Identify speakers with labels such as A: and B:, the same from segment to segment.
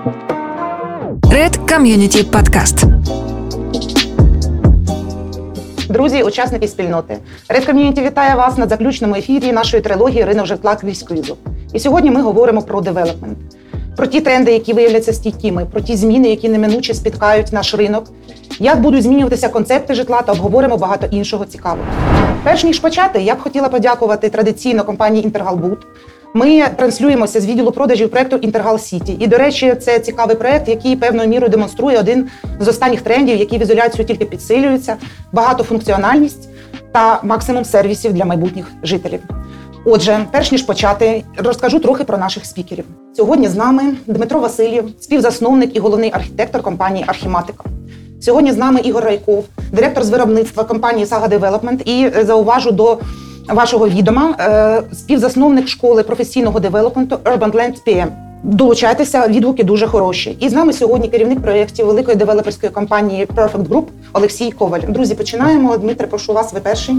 A: Red Community Podcast.
B: Друзі, учасники спільноти. Red Community вітає вас на заключному ефірі нашої трилогії «Ринок житла крізь кризу». І сьогодні ми говоримо про девелопмент. Про ті тренди, які виявляться стійкими, про ті зміни, які неминуче спіткають наш ринок, як будуть змінюватися концепти житла та обговоримо багато іншого цікавого. Перш ніж почати, я б хотіла подякувати традиційно компанії «Інтергалбуд». Ми транслюємося з відділу продажів проєкту «Інтергал Сіті». І, до речі, це цікавий проєкт, який певною мірою демонструє один з останніх трендів, які в ізоляцію тільки підсилюються, багатофункціональність та максимум сервісів для майбутніх жителів. Отже, перш ніж почати, розкажу трохи про наших спікерів. Сьогодні з нами Дмитро Васильєв, співзасновник і головний архітектор компанії «Архіматика». Сьогодні з нами Ігор Райков, директор з виробництва компанії «Сага Девелопмент» і, зауважу до вашого відома, співзасновник школи професійного девелопменту Urban Land PM. Долучайтеся, відгуки дуже хороші. І з нами сьогодні керівник проєктів великої девелоперської компанії Perfect Group Олексій Коваль. Друзі, починаємо. Дмитре, прошу вас, ви перший.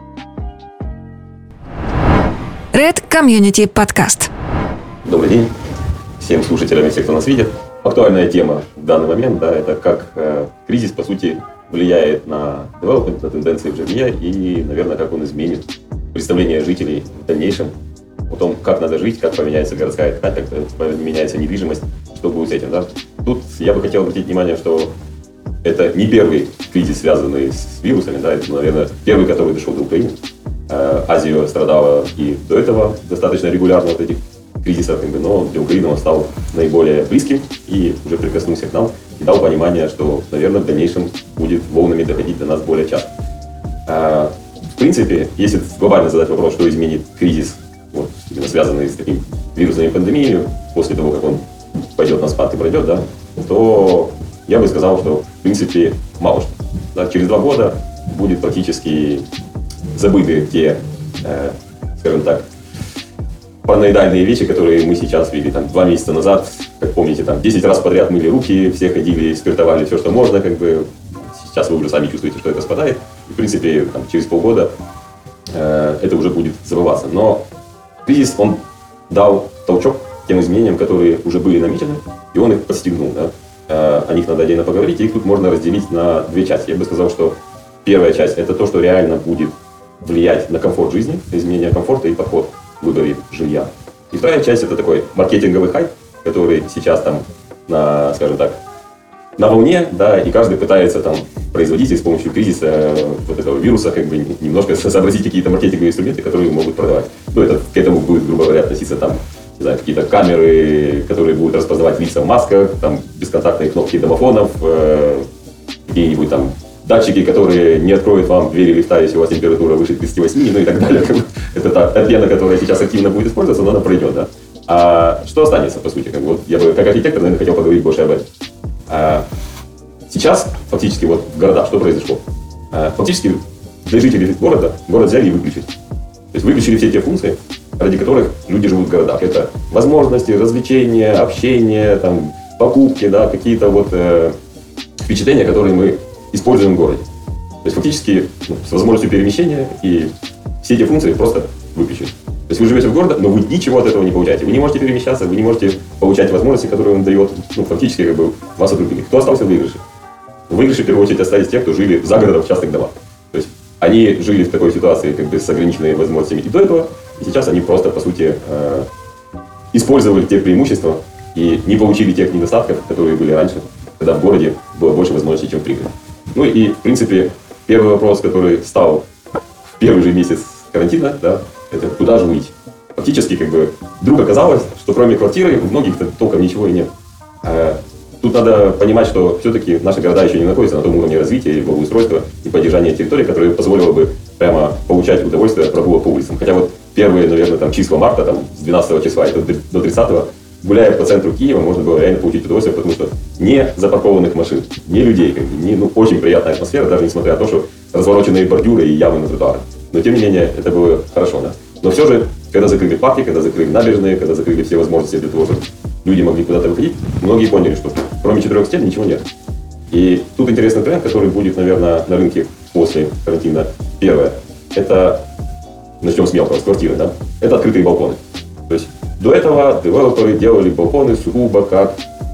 A: Red Community Podcast.
C: Добрый день всем слушателям и всем, кто нас видит. Актуальная тема в данный момент, да, это как кризис, по сути, влияет на девелопмент, на тенденции в жилье и, наверное, как он изменит представление жителей в дальнейшем о том, как надо жить, как поменяется городская ткань, как поменяется недвижимость, что будет с этим. Да. Тут я бы хотел обратить внимание, что это не первый кризис, связанный с вирусами, да, это, наверное, первый, который дошел до Украины. Азия страдала и до этого достаточно регулярно от этих кризисов, но для Украины он стал наиболее близким и уже прикоснулся к нам и дал понимание, что, наверное, в дальнейшем будет волнами доходить до нас более часто. В принципе, если глобально задать вопрос, что изменит кризис, вот, именно связанный с таким вирусной пандемией, после того, как он пойдет на спад и пройдет, да, то я бы сказал, что, в принципе, мало что. Да, через 2 года будет практически забыты те, скажем так, параноидальные вещи, которые мы сейчас видели. Там, 2 месяца назад, как помните, там 10 раз подряд мыли руки, все ходили, спиртовали все, что можно. Как бы. Сейчас вы уже сами чувствуете, что это спадает. И, в принципе, там, через полгода это уже будет забываться. Но кризис, он дал толчок тем изменениям, которые уже были намечены, и он их подстегнул. Да? О них надо отдельно поговорить, и их тут можно разделить на 2 части. Я бы сказал, что первая часть – это то, что реально будет влиять на комфорт жизни, изменение комфорта и подход в выборе жилья. И вторая часть – это такой маркетинговый хайп, который сейчас там, скажем так, на волне, да, и каждый пытается там производить с помощью кризиса вот этого вируса как бы немножко сообразить какие-то маркетинговые инструменты, которые могут продавать. Ну, это к этому будет, грубо говоря, относиться там, не знаю, какие-то камеры, которые будут распознавать лица в масках, там, бесконтактные кнопки домофонов, какие-нибудь там датчики, которые не откроют вам двери лифта, если у вас температура выше 38, ну и так далее. Это та пена, которая сейчас активно будет использоваться, но она пройдет, да. А что останется, по сути? Вот я бы, как архитектор, наверное, хотел поговорить больше об этом. Сейчас, фактически, вот в городах что произошло? Фактически, для жителей города, город взяли и выключили. То есть выключили все те функции, ради которых люди живут в городах. Это возможности, развлечения, общение, там, покупки, да, какие-то вот впечатления, которые мы используем в городе. То есть фактически с возможностью перемещения и все эти функции просто выключили. То есть вы живете в городе, но вы ничего от этого не получаете. Вы не можете перемещаться, вы не можете получать возможности, которые он дает. Ну, фактически как бы вас отрубили. Кто остался в выигрыше? В выигрыше в первую очередь остались те, кто жили за городом в частных домах. То есть они жили в такой ситуации как бы с ограниченными возможностями и до этого, и сейчас они просто по сути использовали те преимущества и не получили тех недостатков, которые были раньше, когда в городе было больше возможностей, чем в пригороде. Ну и, в принципе, первый вопрос, который стал в первый же месяц карантина, да, это куда же жить. Фактически, как бы, вдруг оказалось, что кроме квартиры у многих толком ничего и нет. Тут надо понимать, что все-таки наши города еще не находятся на том уровне развития и благоустройства и поддержания территории, которое позволило бы прямо получать удовольствие от прогулок по улицам. Хотя вот первые, наверное, там, числа марта, там, с 12 числа и до 30-го, гуляя по центру Киева, можно было реально получить удовольствие, потому что не запаркованных машин, не людей, как бы, ну, очень приятная атмосфера, даже несмотря на то, что развороченные бордюры и ямы на тротуарах. Но тем не менее, это было хорошо, да. Но все же, когда закрыли парки, когда закрыли набережные, когда закрыли все возможности для того, чтобы люди могли куда-то выходить, многие поняли, что кроме 4 стен ничего нет. И тут интересный тренд, который будет, наверное, на рынке после карантина. Первое, это, начнем с мелкого, с квартиры, да, это открытые балконы. То есть до этого девелоперы делали балконы сугубо как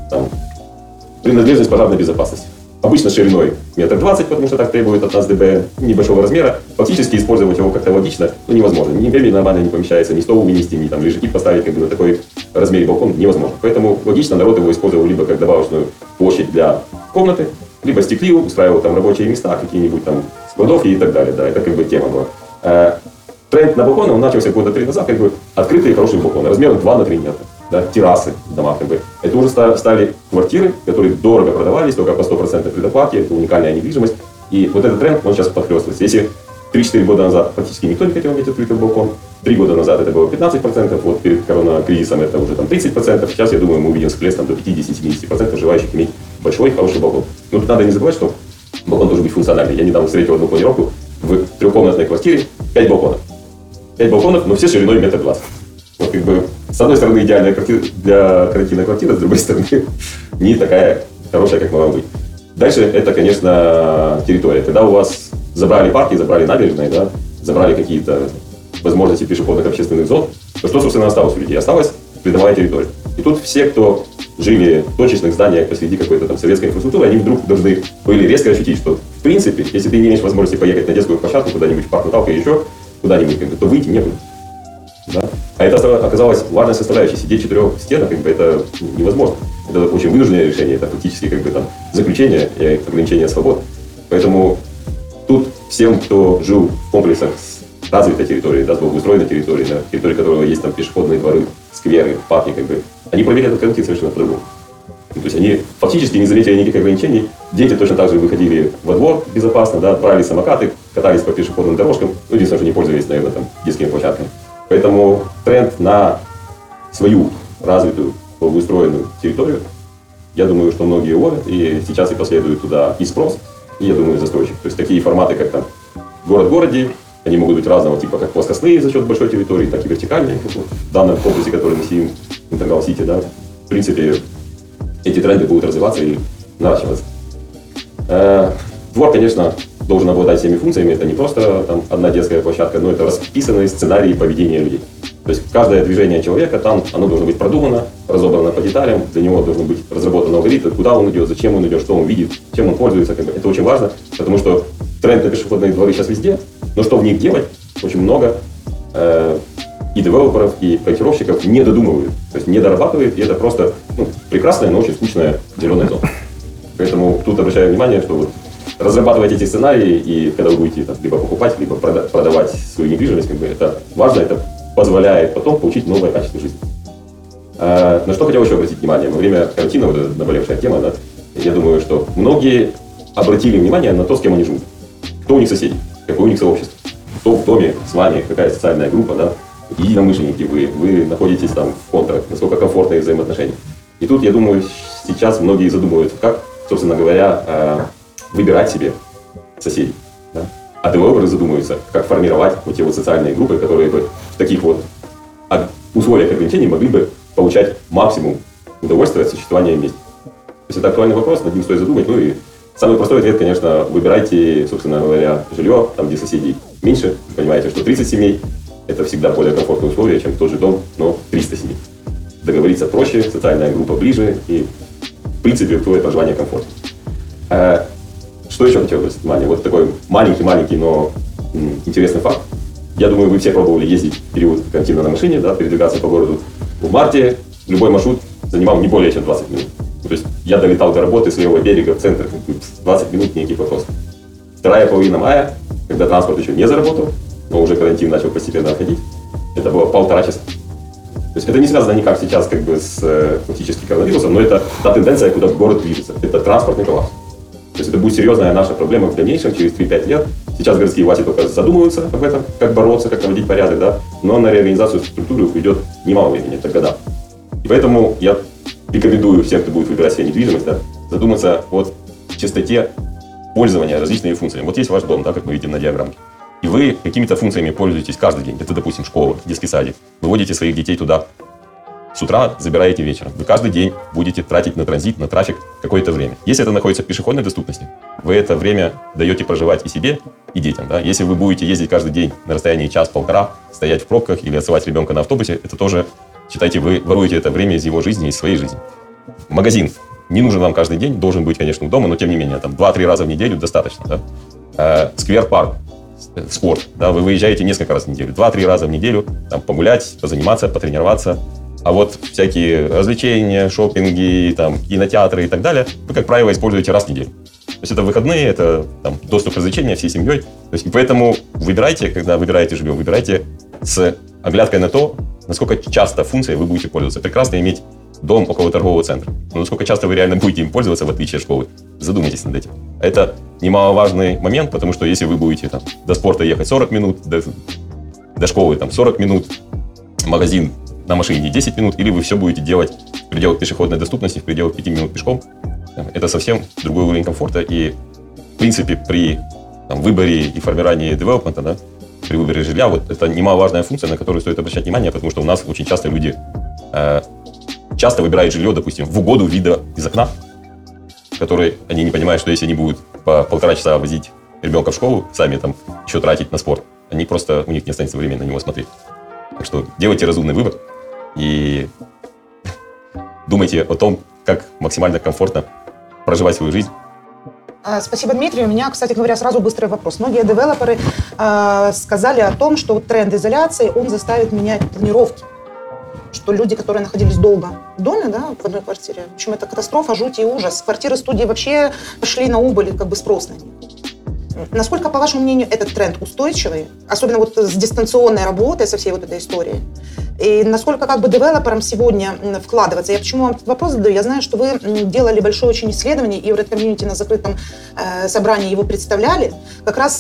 C: там, принадлежность пожарной безопасности. Обычно шириной 1,20 м, потому что так требует от нас ДБН, небольшого размера. Фактически использовать его как-то логично невозможно. Ни мебель нормально не помещается, ни стол вынести, ни там лежаки поставить на такой размере балкон невозможно. Поэтому логично народ его использовал либо как добавочную площадь для комнаты, либо стеклил, устраивал там рабочие места, какие-нибудь там складовки и так далее. Да, это как бы тема была. Тренд на балконы, он начался года 3 назад, как бы открытые хорошие балконы, размером 2 на 3 метра. Да, террасы в домах, как бы. Это уже стали квартиры, которые дорого продавались, только по 100% предоплате, это уникальная недвижимость. И вот этот тренд, он сейчас подхлёстывается. Если 3-4 года назад практически никто не хотел иметь открытый балкон, 3 года назад это было 15%, вот перед коронакризисом это уже там 30%, сейчас, я думаю, мы увидим всплеск там, до 50-70% желающих иметь большой, хороший балкон. Но тут надо не забывать, что балкон должен быть функциональный. Я недавно встретил одну планировку в трехкомнатной квартире, 5 балконов. 5 балконов, но все шириной 1,20 м. Вот как бы, с одной стороны, идеальная для карантинной квартиры, с другой стороны, не такая хорошая, как могла быть. Дальше это, конечно, территория. Когда у вас забрали парки, забрали набережные, да, забрали какие-то возможности пешеходных общественных зон, то что, собственно, осталось у людей? Осталась придомовая территория. И тут все, кто жили в точечных зданиях посреди какой-то там советской инфраструктуры, они вдруг должны были резко ощутить, что, в принципе, если ты не имеешь возможности поехать на детскую площадку куда-нибудь в парк Наталка или еще куда-нибудь, то выйти некуда. Да? А это оказалось важной составляющей. Сидеть в 4 стенах, как бы, это невозможно. Это очень вынужденное решение, это фактически как бы, там, заключение и ограничение свобод. Поэтому тут всем, кто жил в комплексах с развитой территорией, да, с благоустроенной территорией, на территории которого есть там пешеходные дворы, скверы, парки, как бы, они провели этот карантин совершенно по-другому. То есть они фактически не заметили никаких ограничений. Дети точно так же выходили во двор безопасно, да, брали самокаты, катались по пешеходным дорожкам, ну, единственное, что не пользовались, наверное, там, детскими площадками. Поэтому тренд на свою развитую, благоустроенную территорию, я думаю, что многие ловят, и сейчас и последует туда и спрос, и, я думаю, застройщик. То есть такие форматы, как там город в городе, они могут быть разного типа, как плоскостные за счет большой территории, так и вертикальные, как вот в данном комплексе, который мы сидим, Интергал-Сити, да. В принципе, эти тренды будут развиваться и наращиваться. Двор, конечно, должен обладать всеми функциями. Это не просто там, одна детская площадка, но это расписанные сценарии поведения людей. То есть каждое движение человека там, оно должно быть продумано, разобрано по деталям. Для него должен быть разработан алгоритм, куда он идет, зачем он идет, что он видит, чем он пользуется. Это очень важно, потому что тренд на пешеходные дворы сейчас везде. Но что в них делать, очень много и девелоперов, и проектировщиков не додумывают. То есть не дорабатывают, и это просто прекрасная, но очень скучная зеленая зона. Поэтому тут обращаю внимание, что вот разрабатывать эти сценарии, и когда вы будете там, либо покупать, либо продавать свою недвижимость, как бы, это важно, это позволяет потом получить новое качество жизни. На что хотел еще обратить внимание? Во время карантина, вот эта наболевшая тема, да, я думаю, что многие обратили внимание на то, с кем они живут. Кто у них соседи, какое у них сообщество, кто в доме с вами, какая социальная группа, да, единомышленники вы находитесь там в контрах, насколько комфортные взаимоотношения. И тут, я думаю, сейчас многие задумываются, как, собственно говоря, выбирать себе соседей. Да? А девелоперы задумываются, как формировать вот те вот социальные группы, которые бы в таких вот условиях ограничений могли бы получать максимум удовольствия от существования вместе. То есть это актуальный вопрос, над ним стоит задумать. Ну и самый простой ответ, конечно, выбирайте, собственно говоря, жилье, там, где соседей меньше. Понимаете, что 30 семей – это всегда более комфортные условия, чем тот же дом, но 300 семей. Договориться проще, социальная группа ближе и, в принципе, условия проживания комфортно. Что еще хотел обратить внимание? Вот такой маленький, но интересный факт. Я думаю, вы все пробовали ездить в период карантина на машине, да, передвигаться по городу. В марте любой маршрут занимал не более чем 20 минут. То есть я долетал до работы с левого берега в центр, 20 минут некий вопрос. Вторая половина мая, когда транспорт еще не заработал, но уже карантин начал постепенно отходить, это было 1,5 часа. То есть это не связано никак сейчас как бы с фактически коронавирусом, но это та тенденция, куда город движется. Это транспортный коллапс. То есть это будет серьезная наша проблема в дальнейшем, через 3-5 лет. Сейчас городские власти только задумываются об этом, как бороться, как наводить порядок, да? Но на реорганизацию структуры уйдет немало времени, это года. И поэтому я рекомендую всем, кто будет выбирать себе недвижимость, да, задуматься о частоте пользования различными функциями. Вот есть ваш дом, да, как мы видим на диаграмме. И вы какими-то функциями пользуетесь каждый день. Это, допустим, школа, детский садик. Вы водите своих детей туда с утра, забираете вечером. Вы каждый день будете тратить на транзит, на трафик какое-то время. Если это находится в пешеходной доступности, вы это время даете проживать и себе, и детям. Да? Если вы будете ездить каждый день на расстоянии час-полтора, стоять в пробках или отсылать ребенка на автобусе, это тоже, считайте, вы воруете это время из его жизни, из своей жизни. магазин не нужен вам каждый день, должен быть, конечно, дома, но тем не менее, там 2-3 раза в неделю достаточно. Да? Сквер-парк, спорт, да, вы выезжаете несколько раз в неделю, 2-3 раза в неделю, там, погулять, позаниматься, потренироваться. А вот всякие развлечения, шопинги, там, кинотеатры и так далее вы, как правило, используете раз в неделю. То есть это выходные, это там, доступ к развлечениям всей семьей. То есть, и поэтому выбирайте, когда выбираете жилье, выбирайте с оглядкой на то, насколько часто функцией вы будете пользоваться. Прекрасно иметь дом около торгового центра. Но насколько часто вы реально будете им пользоваться, в отличие от школы, задумайтесь над этим. Это немаловажный момент, потому что если вы будете там, до спорта ехать 40 минут, до школы там, 40 минут, магазин на машине 10 минут, или вы все будете делать в пределах пешеходной доступности, в пределах 5 минут пешком, это совсем другой уровень комфорта. И, в принципе, при выборе и формировании девелопмента, да, при выборе жилья, вот это немаловажная функция, на которую стоит обращать внимание, потому что у нас очень часто люди часто выбирают жилье, допустим, в угоду вида из окна, который они не понимают, что если они будут по 1,5 часа возить ребенка в школу, сами там еще тратить на спорт, они просто, у них не останется времени на него смотреть. Так что делайте разумный выбор и думайте о том, как максимально комфортно проживать свою жизнь.
B: Спасибо, Дмитрий. У меня, кстати говоря, сразу быстрый вопрос. Многие девелоперы сказали о том, что тренд изоляции, он заставит менять планировки. Что люди, которые находились долго в доме, да, в одной квартире, в общем, это катастрофа, жуть и ужас. Квартиры-студии вообще пошли на убыль, как бы спрос на них. Насколько, по вашему мнению, этот тренд устойчивый, особенно вот с дистанционной работой, со всей вот этой историей? И насколько как бы девелоперам сегодня вкладываться? Я почему вам этот вопрос задаю? Я знаю, что вы делали большое очень исследование, и в Red Community на закрытом собрании его представляли, как раз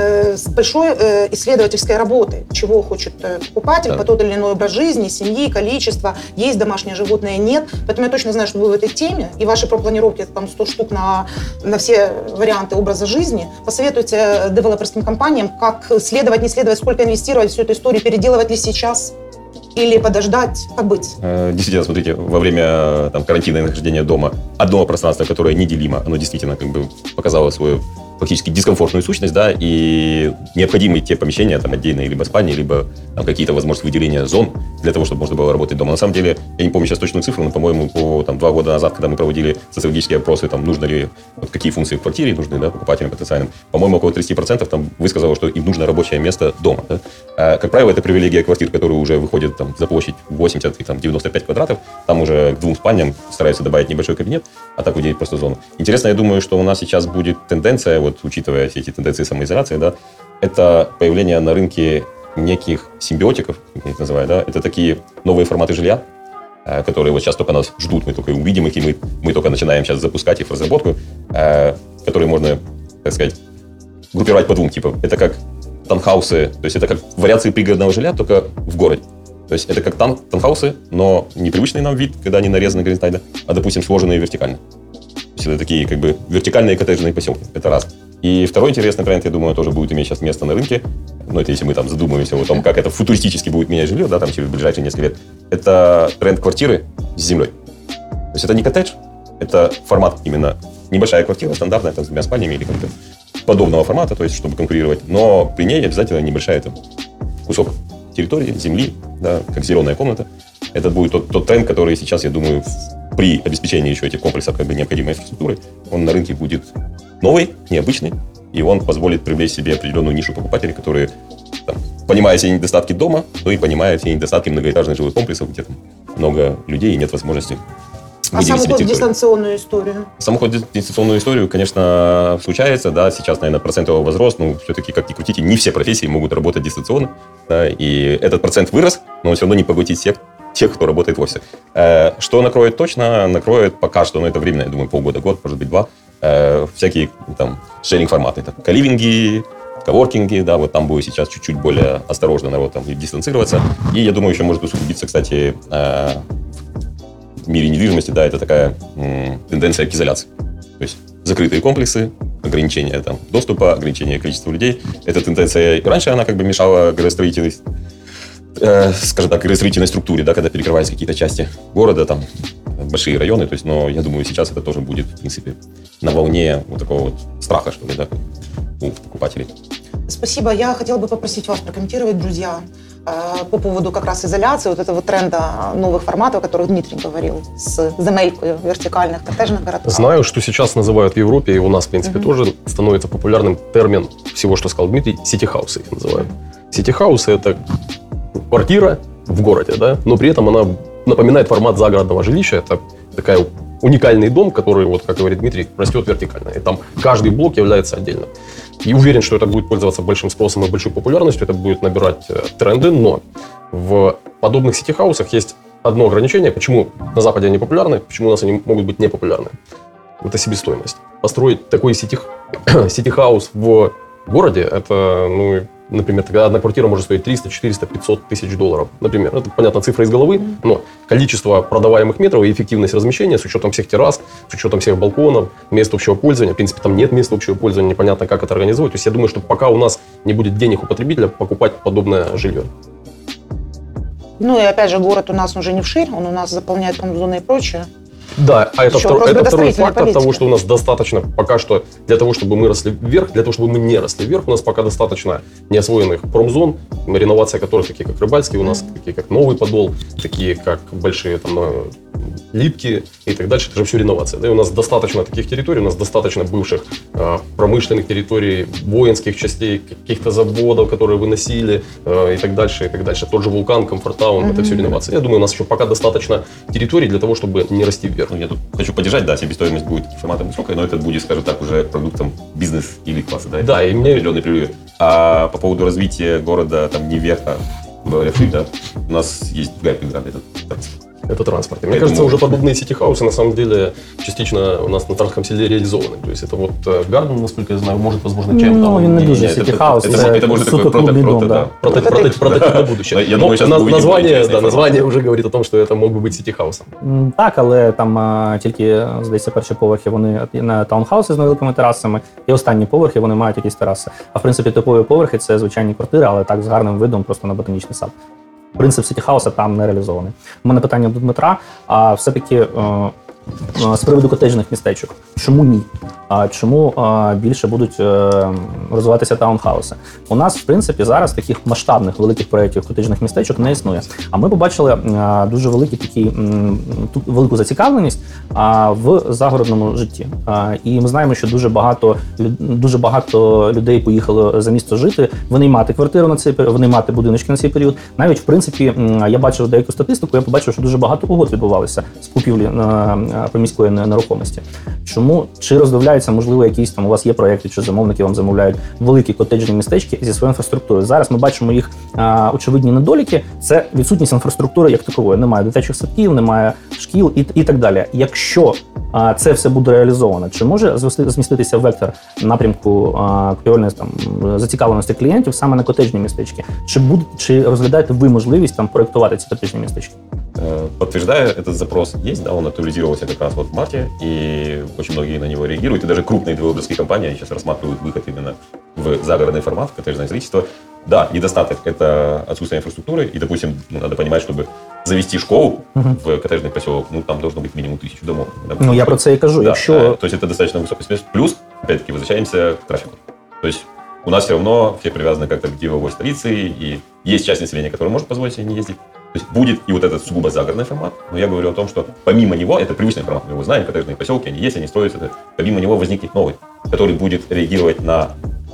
B: с большой исследовательской работой, чего хочет покупатель, по тот или иной образ жизни, семьи, количество, есть домашние животные, нет. Поэтому я точно знаю, что вы в этой теме, и ваши пропланировки, там 100 штук на все варианты образа жизни. Посоветуйте девелоперским компаниям, как следовать, не следовать, сколько инвестировать в всю эту историю, переделывать ли сейчас или подождать, как быть?
C: Действительно, смотрите, во время карантина и нахождения дома одно пространство, которое неделимо, оно действительно как бы показало свою фактически дискомфортную сущность, да, и необходимы те помещения, там, отдельные, либо спальни, либо там, какие-то возможности выделения зон для того, чтобы можно было работать дома. На самом деле, я не помню сейчас точную цифру, но, по-моему, 2 года назад, когда мы проводили социологические опросы, там, нужно ли, вот, какие функции в квартире нужны, да, покупателям потенциальным, по-моему, около 30% там высказало, что им нужно рабочее место дома. Да. Как правило, это привилегия квартир, которые уже выходят там, за площадь 80 и 95 квадратов, там уже к 2 спальням стараются добавить небольшой кабинет, а так выделить просто зону. Интересно, я думаю, что у нас сейчас будет тенденция, вот, учитывая все эти тенденции самоизоляции, да, это появление на рынке неких симбиотиков, как я их называю, да, это такие новые форматы жилья, которые вот сейчас только нас ждут, мы только увидим их, и мы только начинаем сейчас запускать их в разработку, которые можно, так сказать, группировать по 2 типам. Это как таунхаусы, то есть это как вариации пригородного жилья, только в городе. То есть это как таунхаусы, но не привычный нам вид, когда они нарезаны горизонтально, а, допустим, сложенные вертикально. То есть это такие как бы вертикальные коттеджные поселки. Это раз. И второй интересный тренд, я думаю, тоже будет иметь сейчас место на рынке. Ну, это если мы там задумываемся о том, как это футуристически будет менять жилье, да, там через ближайшие несколько лет. Это тренд квартиры с землей. То есть это не коттедж, это формат именно небольшая квартира, стандартная, там, с 2 спальнями или как-то подобного формата, то есть чтобы конкурировать. Но при ней обязательно небольшая там, кусок территории, земли, да, как зеленая комната. Это будет тот тренд, который сейчас, я думаю, при обеспечении еще этих комплексов как бы необходимой инфраструктуры, он на рынке будет новый, необычный, и он позволит привлечь себе определенную нишу покупателей, которые, там, понимая все недостатки дома, но и понимая все недостатки многоэтажных жилых комплексов, где там много людей и нет возможности выделить себе территорию. А саму
B: дистанционную историю?
C: Саму дистанционную историю, конечно, случается, да, сейчас, наверное, процент его возрос, но все-таки, как ни крутите, не все профессии могут работать дистанционно, да, и этот процент вырос, но он все равно не поглотит тех, кто работает в офисе. Что накроет точно? Накроет пока что, но это временно, я думаю, полгода, год, может быть, 2, всякие там шеринг-форматы, там, каливинги, коворкинги, да, вот там будет сейчас чуть-чуть более осторожно народ там дистанцироваться. И я думаю, еще может усугубиться, кстати, в мире недвижимости, да, это такая тенденция к изоляции. То есть закрытые комплексы, ограничение там, доступа, ограничение количества людей. Эта тенденция, и раньше она как бы мешала градостроительной, скажем так, градостроительной структуре, да, когда перекрывались какие-то части города, там, большие районы, то есть, но я думаю, сейчас это тоже будет, в принципе, на волне вот такого вот страха, что ли, да, у покупателей.
B: Спасибо. Я хотела бы попросить вас прокомментировать, друзья, по поводу как раз изоляции, вот этого тренда новых форматов, о которых Дмитрий говорил, с земелькой вертикальных коттеджных городков.
D: Знаю, что сейчас называют в Европе, и у нас, в принципе, тоже становится популярным термин всего, что сказал Дмитрий, сити-хаусы их называют. Сити-хаусы – это квартира в городе, да, но при этом она напоминает формат загородного жилища. Это такая уникальный дом, который, вот как говорит Дмитрий, растет вертикально. И там каждый блок является отдельно. И уверен, что это будет пользоваться большим спросом и большой популярностью, это будет набирать тренды, но в подобных сити-хаусах есть одно ограничение, почему на Западе они популярны, почему у нас они могут быть непопулярны. Это себестоимость. Построить такой сити-хаус в городе, это, ну, например, тогда одна квартира может стоить 300, 400, 500 тысяч долларов. Например, это, понятно, цифра из головы, но количество продаваемых метров и эффективность размещения с учетом всех террас, с учетом всех балконов, мест общего пользования. В принципе, там нет мест общего пользования, непонятно, как это организовать. То есть я думаю, что пока у нас не будет денег у потребителя покупать подобное жилье.
B: Ну и опять же, город у нас уже не вширь, он у нас заполняет промзоны и прочее.
D: Да, а это второй фактор
B: политики.
D: того, что у нас достаточно пока что для того, чтобы мы росли вверх, для того, чтобы мы не росли вверх, у нас пока достаточно неосвоенных промзон, реновация которых, такие как Рыбальский, у нас такие как Новый Подол, такие как большие там Липки и так дальше, это же все реновация. Да? И у нас достаточно таких территорий, у нас достаточно бывших промышленных территорий, воинских частей, каких-то заводов, которые выносили и так дальше, и так дальше. Тот же Вулкан, Комфортаун, это все реновация. Я думаю, у нас еще пока достаточно территорий для того, чтобы не расти вверх.
C: Ну, я тут хочу поддержать, да, себестоимость будет форматом высокой, но это будет, скажем так, уже продуктом бизнес или класса, да?
D: Да, и мне...
C: Определенный перерыв. А по поводу развития города, там, не вверха, да, у нас есть другая преграда,
D: это транспорт. И мне кажется, уже подобные сити-хаусы на самом деле частично у нас на Тарском селе реализованы. То есть это вот Гарден, насколько я знаю, может, возможно, чем-то.
E: Ну, він не дуже сити-хаус,
C: это может
E: суто
C: такой
E: клубный дом, да.
D: Прототип на будущее.
C: Я думаю, сейчас
D: название уже говорит о том, що це мог би бути сити-хаусом.
E: Так, але там тільки, здається, перші поверхи вони на таунхауси з невеликими терасами, і останні поверхи вони мають якісь тераси. А в принципі, типові поверхи – це звичайні квартири, але так з гарним видом просто на ботанічний сад. Принцип сити-хауса там не реалізований. У мене питання до Дмитра, а все-таки з приводу котеджних містечок. Чому ні? Чому більше будуть розвиватися таунхауси? У нас, в принципі, зараз таких масштабних великих проєктів котеджних містечок не існує. А ми побачили дуже велику зацікавленість в загородному житті. І ми знаємо, що дуже багато людей поїхало за місто жити. Вони мати квартиру на цей період, вони мати будиночки на цей період. Навіть, в принципі, я бачив деяку статистику, я побачив, що дуже багато угод відбувалося з купівлі приміської нерухомості. Чому? Чи роздивляються, можливо, якісь там у вас є проєкти, чи замовники вам замовляють великі котеджні містечки зі своєю інфраструктурою? Зараз ми бачимо їх очевидні недоліки. Це відсутність інфраструктури як такової. Немає дитячих садків, немає шкіл і так далі. Якщо це все буде реалізовано, чи може зміститися вектор напрямку купівельної зацікавленості клієнтів саме на котеджні містечки? Чи розглядаєте ви можливість там проєктувати ці котеджні містечки?
C: Подтверждая, этот запрос есть, да, он актуализировался как раз вот в марте, и очень многие на него реагируют, и даже крупные девелоперские компании сейчас рассматривают выход именно в загородный формат, в коттеджное строительство. Да, недостаток – это отсутствие инфраструктуры, и, допустим, надо понимать, чтобы завести школу в коттеджный поселок, там должно быть минимум 1000 домов. Да,
E: я про це і кажу.
C: Да, то есть это достаточно высокий спец. Плюс, опять-таки, возвращаемся к трафику. То есть у нас все равно все привязаны как-то к деловой столице, и есть часть населения, которая может позволить себе не ездить. То есть будет и вот этот сугубо загородный формат, но я говорю о том, что помимо него, это привычный формат, мы его знаем, коттеджные поселки, они есть, они строятся, помимо него возникнет новый, который будет реагировать на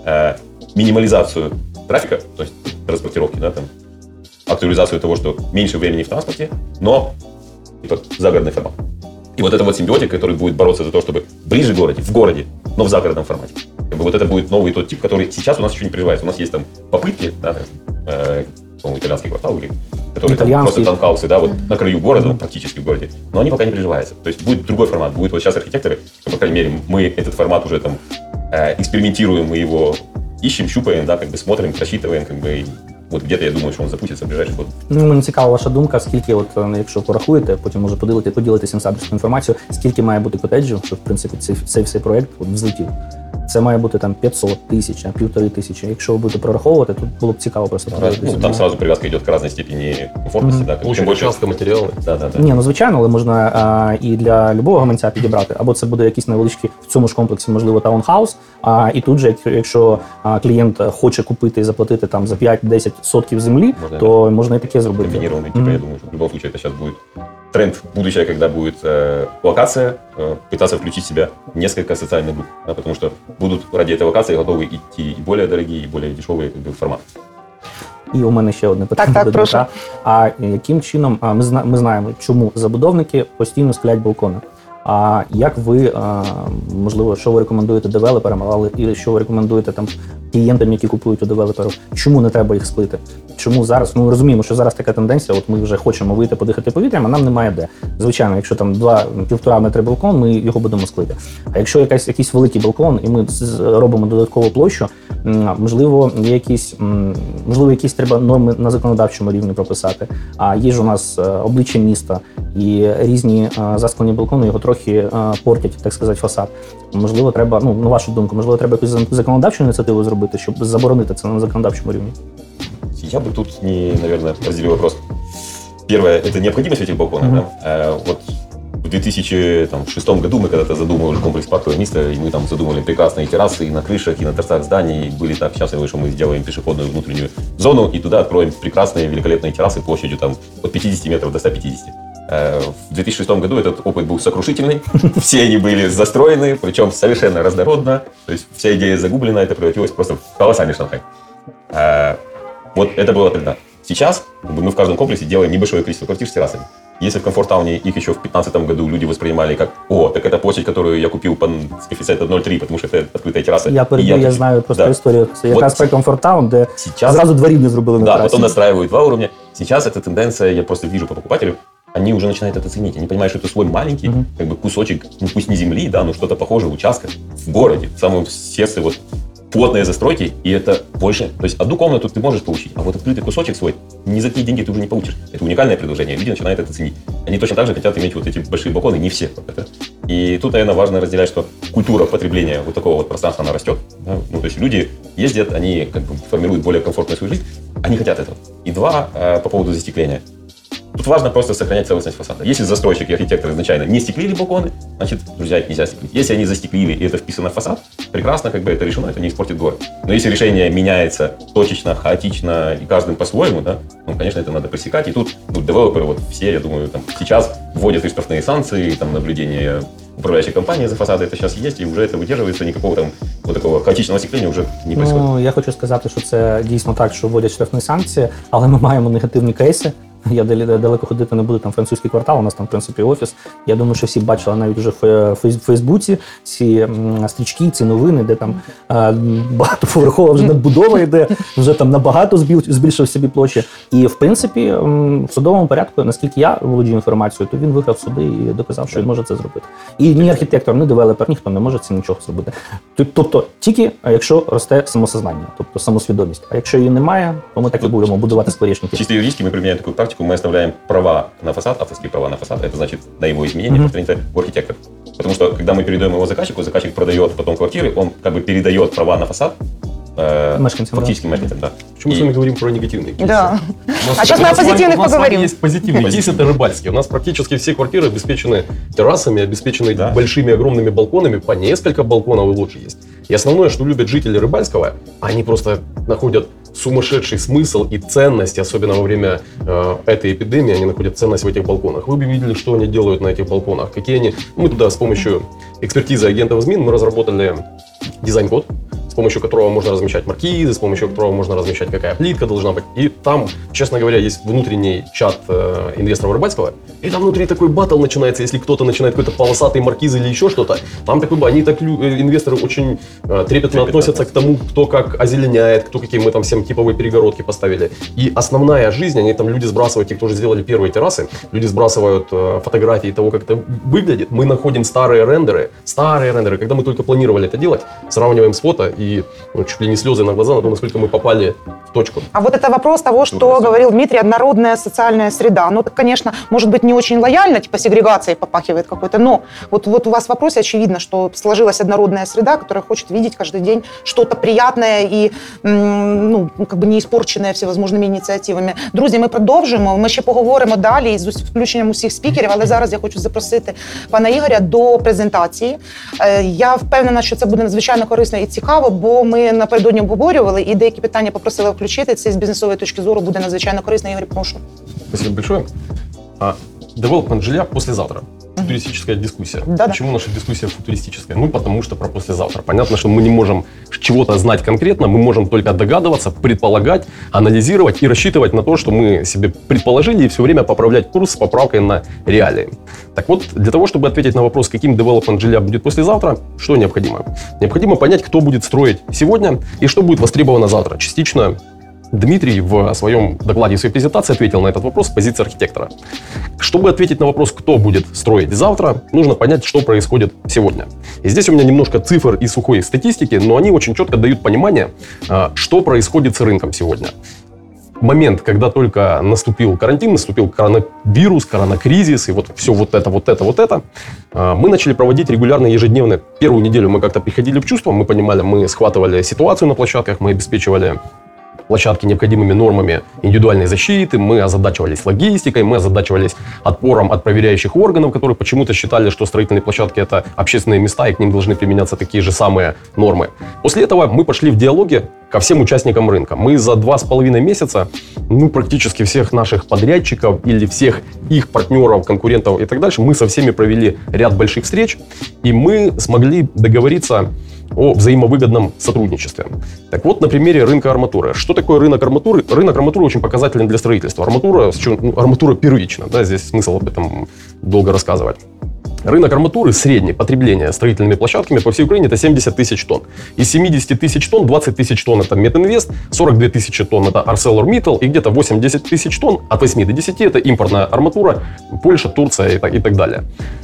C: минимализацию трафика, то есть транспортировки, да, там, актуализацию того, что меньше времени в транспорте, но типа загородный формат. И вот это вот симбиотик, который будет бороться за то, чтобы ближе к городе, в городе, но в загородном формате. Как бы вот это будет новый тот тип, который сейчас у нас еще не приживается. У нас есть там попытки, да, по-моему, итальянский квартал, которые там просто таунхаусы, да, вот на краю города, практически в городе, но они пока не приживаются. То есть будет другой формат. Будет вот сейчас архитекторы, по крайней мере, мы этот формат уже там экспериментируем, мы его ищем, щупаем, да, как бы смотрим, просчитываем, как бы, от где-то, я думаю, що він запуститься в ближайший год.
E: Мені цікава ваша думка, скільки, якщо порахуєте, потім може поділитися інсайдерською інформацією, скільки має бути котеджів, щоб, в принципі, цей проєкт взлетів. це має бути там 500, 1000, 1500. Якщо ви будете прораховувати, тут було б цікаво просто.
C: Там сразу привязка идет к разной степени комфортности. Да,
D: Очень часто материалы.
C: Да.
E: Ні, ну звичайно, але можна і для любого гаманця підібрати. Або це буде якийсь невеличкий в цьому ж комплексі, можливо, таунхаус. І тут же, якщо клієнт хоче купити і заплатити там за 5-10 сотків землі, то можна і таке зробити.
C: Комбинированный, типа, я думаю, что в любом случае это сейчас будет тренд будущее, когда будет локация, пытаться включить в себя несколько социальных групп, да, потому что будут ради этой локации готовы идти и более дорогие, и более дешевые форматы.
E: І у мене ще одне питання
B: Так,
E: до
B: прошу.
E: Дмитра. А яким чином ми знаємо, чому забудовники постійно склять балкони? А як ви, можливо, що ви рекомендуєте девелоперам, але і що ви рекомендуєте там клієнтам, які купують у девелоперів? Чому не треба їх склити? Чому зараз? Ну, ми розуміємо, що зараз така тенденція, от ми вже хочемо вийти подихати повітрям, а нам немає де. Звичайно, якщо там 1,5 метри балкон, ми його будемо склити. А якщо якийсь великий балкон, і ми робимо додаткову площу, можливо, якісь треба норми на законодавчому рівні прописати. А є ж у нас обличчя міста, і різні засклені балкони його трохи портять, так сказати, фасад. Можливо, треба, на вашу думку, можливо, треба якусь законодавчу ініціативу зробити, щоб заборонити це на законодавчому рівні?
C: Я бы тут, наверное, разделил вопрос. Первое – это необходимость этих балконов. Да? Вот в 2006 году мы когда-то задумывали комплекс паркового места, и мы там задумывали прекрасные террасы и на крышах, и на торцах зданий. И были так счастливы, что мы сделаем пешеходную внутреннюю зону, и туда откроем прекрасные, великолепные террасы площадью там, от 50 метров до 150. В 2006 году этот опыт был сокрушительный, все они были застроены, причем совершенно разнородно, то есть вся идея загублена, это превратилось просто в колоссальный шанхай. Вот это было тогда. Сейчас мы в каждом комплексе делаем небольшое количество квартир с террасами. Если в комфорт-тауне их еще в 2015 году люди воспринимали как так это площадь, которую я купил с коэффициентом 0,3, потому что это открытая терраса.
E: Я знаю просто історію. Це якраз про комфорт-таун, де зразу дворів не зробили на терасі.
C: Да, потом настраивают 2 уровня. Сейчас эта тенденция, я просто вижу по покупателю, они уже начинают это ценить. Они понимают, что это свой маленький, как бы кусочек, пусть не земли, да, но что-то похожее, участка в городе, в самом сердце плотные застройки, и это больше. То есть одну комнату ты можешь получить, а вот открытый кусочек свой ни за какие деньги ты уже не получишь. Это уникальное предложение, люди начинают это ценить. Они точно так же хотят иметь вот эти большие балконы, не все. И тут, наверное, важно разделять, что культура потребления вот такого вот пространства, она растет. Да? Ну, то есть люди ездят, они как бы формируют более комфортную свою жизнь, они хотят этого. И по поводу застекления. Тут важно просто сохранять целостность фасада. Если застройщик и архитектор изначально не стеклили балконы, значит, друзья, их нельзя стеклить. Если они застеклили и это вписано в фасад, прекрасно, как бы это решено, это не испортит город. Но если решение меняется точечно, хаотично и каждым по-своему, да, конечно, это надо пресекать. И тут девелоперы, все, я думаю, там сейчас вводят и штрафные санкции, там наблюдение управляющей компании за фасады, это сейчас есть, и уже это выдерживается, никакого там такого хаотичного остекления уже не происходит.
E: Я хочу сказати, що це дійсно так, що вводять штрафні санкції, але ми маємо негативні кейси. Я далеко ходити не буду, там французький квартал, у нас там, в принципі, офіс. Я думаю, що всі бачили навіть вже в Фейсбуці ці стрічки, ці новини, де там багатоповерхова вже надбудова йде, вже там набагато збільшив собі площі. І, в принципі, в судовому порядку, наскільки я володію інформацією, то він виграв суди і доказав, що він може це зробити. І ні архітектор, ні девелопер, ніхто не може це нічого зробити. Тобто, тільки якщо росте самосознання, тобто самосвідомість. А якщо її немає, то ми так і будемо будувати скворечники.
C: Чисто юридически мы применяем такую практику, мы оставляем права на фасад, авторские права на фасад, это значит на его изменение повторяется у архитектора. Потому что когда мы передаем его заказчику, заказчик продает потом квартиры, он как бы передает права на фасад фактически мешканцам. Да.
D: Почему мы с вами говорим про негативные кейсы?
B: Да. А сейчас мы о позитивных
D: поговорим. У
B: поговорим.
D: нас есть позитивный кейс, это рыбальский. У нас практически все квартиры обеспечены террасами, обеспечены большими огромными балконами, по несколько балконов и лучше есть. И основное, что любят жители Рыбальского, они просто находят сумасшедший смысл и ценность, особенно во время этой эпидемии, они находят ценность в этих балконах. Вы бы видели, что они делают на этих балконах, какие они... Мы туда с помощью экспертизы агентов ЗМИН мы разработали дизайн-код, с помощью которого можно размещать маркизы, с помощью которого можно размещать, какая плитка должна быть. И там, честно говоря, есть внутренний чат инвесторов Рыбальского, и там внутри такой баттл начинается, если кто-то начинает какой-то полосатый маркиз или еще что-то. Там такой, они так, инвесторы очень трепетно относятся к тому, кто как озеленяет, кто какие мы там всем типовые перегородки поставили. И основная жизнь, они там люди сбрасывают, те, кто уже сделали первые террасы, люди сбрасывают фотографии того, как это выглядит. Мы находим старые рендеры, когда мы только планировали это делать, сравниваем с фото и и чуть ли не слезы на глаза на то, насколько мы попали в точку.
B: А вот это вопрос того, что говорил Дмитрий, однородная социальная среда. Ну, это, конечно, может быть, не очень лояльно, типа сегрегацией попахивает какой-то, но вот у вас в вопросе очевидно, что сложилась однородная среда, которая хочет видеть каждый день что-то приятне і не испорчене всевозможними ініціативами. Друзі, ми продовжимо, ми ще поговоримо далі з включенням усіх спікерів, але зараз я хочу запросити пана Ігоря до презентації. Я впевнена, що це буде надзвичайно корисно і цікаво, бо ми напередодні обговорювали і деякі питання попросили включити. Це з бізнесової точки зору буде надзвичайно корисно. Ігор, прошу.
D: Спасибо большое. Девелопмент жилья послезавтра. Футуристическая дискуссия.
B: Да-да.
D: Почему наша дискуссия футуристическая? Ну, потому что про послезавтра. Понятно, что мы не можем чего-то знать конкретно, мы можем только догадываться, предполагать, анализировать и рассчитывать на то, что мы себе предположили, и все время поправлять курс с поправкой на реалии. Так вот, для того, чтобы ответить на вопрос, каким девелопмент жилья будет послезавтра, что необходимо? Необходимо понять, кто будет строить сегодня и что будет востребовано завтра. Частично Дмитрий в своем докладе, в своей презентации ответил на этот вопрос с позиции архитектора. Чтобы ответить на вопрос, кто будет строить завтра, нужно понять, что происходит сегодня. И здесь у меня немножко цифр и сухой статистики, но они очень четко дают понимание, что происходит с рынком сегодня. В момент, когда только наступил карантин, наступил коронавирус, коронакризис и вот все вот это, мы начали проводить регулярно, ежедневно. Первую неделю мы как-то приходили в чувство, мы понимали, мы схватывали ситуацию на площадках, мы обеспечивали площадки необходимыми нормами индивидуальной защиты, мы озадачивались логистикой, мы озадачивались отпором от проверяющих органов, которые почему-то считали, что строительные площадки – это общественные места, и к ним должны применяться такие же самые нормы. После этого мы пошли в диалоги ко всем участникам рынка. Мы за 2,5 месяца, практически всех наших подрядчиков или всех их партнеров, конкурентов и так дальше, мы со всеми провели ряд больших встреч, и мы смогли договориться о взаимовыгодном сотрудничестве. Так вот, на примере рынка арматуры. Что такое рынок арматуры? Рынок арматуры очень показателен для строительства. Арматура первична, да, здесь смысл об этом долго рассказывать. Рынок арматуры, среднее потребление строительными площадками по всей Украине – это 70 тысяч тонн. Из 70 тысяч тонн 20 тысяч тонн – это Метинвест, 42 тысячи тонн – это ArcelorMittal, и где-то 8-10 тысяч тонн, от 8 до 10 – это импортная арматура, Польша, Турция и так далее.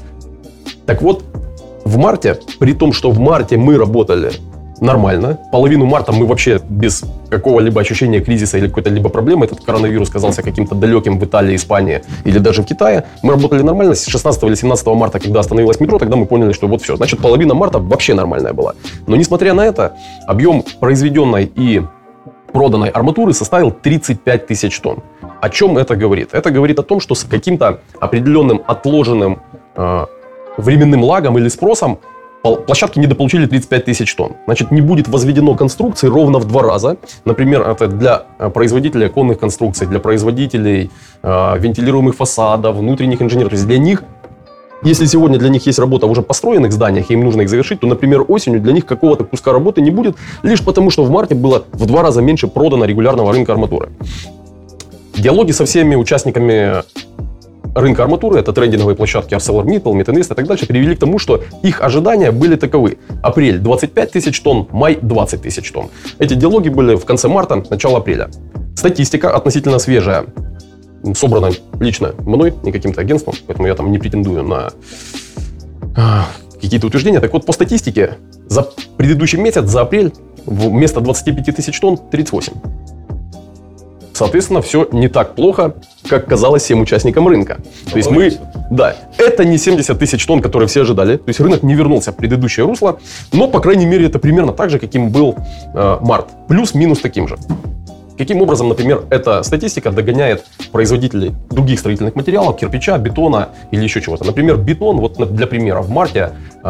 D: Так вот, в марте, при том, что в марте мы работали нормально, половину марта мы вообще без какого-либо ощущения кризиса или какой-то либо проблемы, этот коронавирус казался каким-то далеким в Италии, Испании или даже в Китае, мы работали нормально. С 16 или 17 марта, когда остановилось метро, тогда мы поняли, что вот все, значит, половина марта вообще нормальная была. Но несмотря на это, объем произведенной и проданной арматуры составил 35 тысяч тонн. О чем это говорит? Это говорит о том, что с каким-то определенным отложенным временным лагом или спросом площадки недополучили 35 тысяч тонн. Значит, не будет возведено конструкций ровно в 2 раза. Например, это для производителей оконных конструкций, для производителей вентилируемых фасадов, внутренних инженеров. То есть для них, если сегодня для них есть работа в уже построенных зданиях, и им нужно их завершить, то, например, осенью для них какого-то куска работы не будет, лишь потому, что в марте было в 2 раза меньше продано регулярного рынка арматуры. Диалоги со всеми участниками рынка арматуры, это трейдинговые площадки ArcelorMittal, Метинвест и так дальше, привели к тому, что их ожидания были таковы. Апрель 25 тысяч тонн, май 20 тысяч тонн. Эти диалоги были в конце марта, начало апреля. Статистика относительно свежая, собрана лично мной, не каким-то агентством, поэтому я там не претендую на какие-то утверждения. Так вот, по статистике, за предыдущий месяц, за апрель, вместо 25 тысяч тонн 38. Соответственно, все не так плохо, как казалось всем участникам рынка. То есть это не 70 тысяч тонн, которые все ожидали. То есть рынок не вернулся в предыдущее русло, но, по крайней мере, это примерно так же, каким был март. Плюс-минус таким же. Каким образом, например, эта статистика догоняет производителей других строительных материалов, кирпича, бетона или еще чего-то. Например, бетон, вот для примера, в марте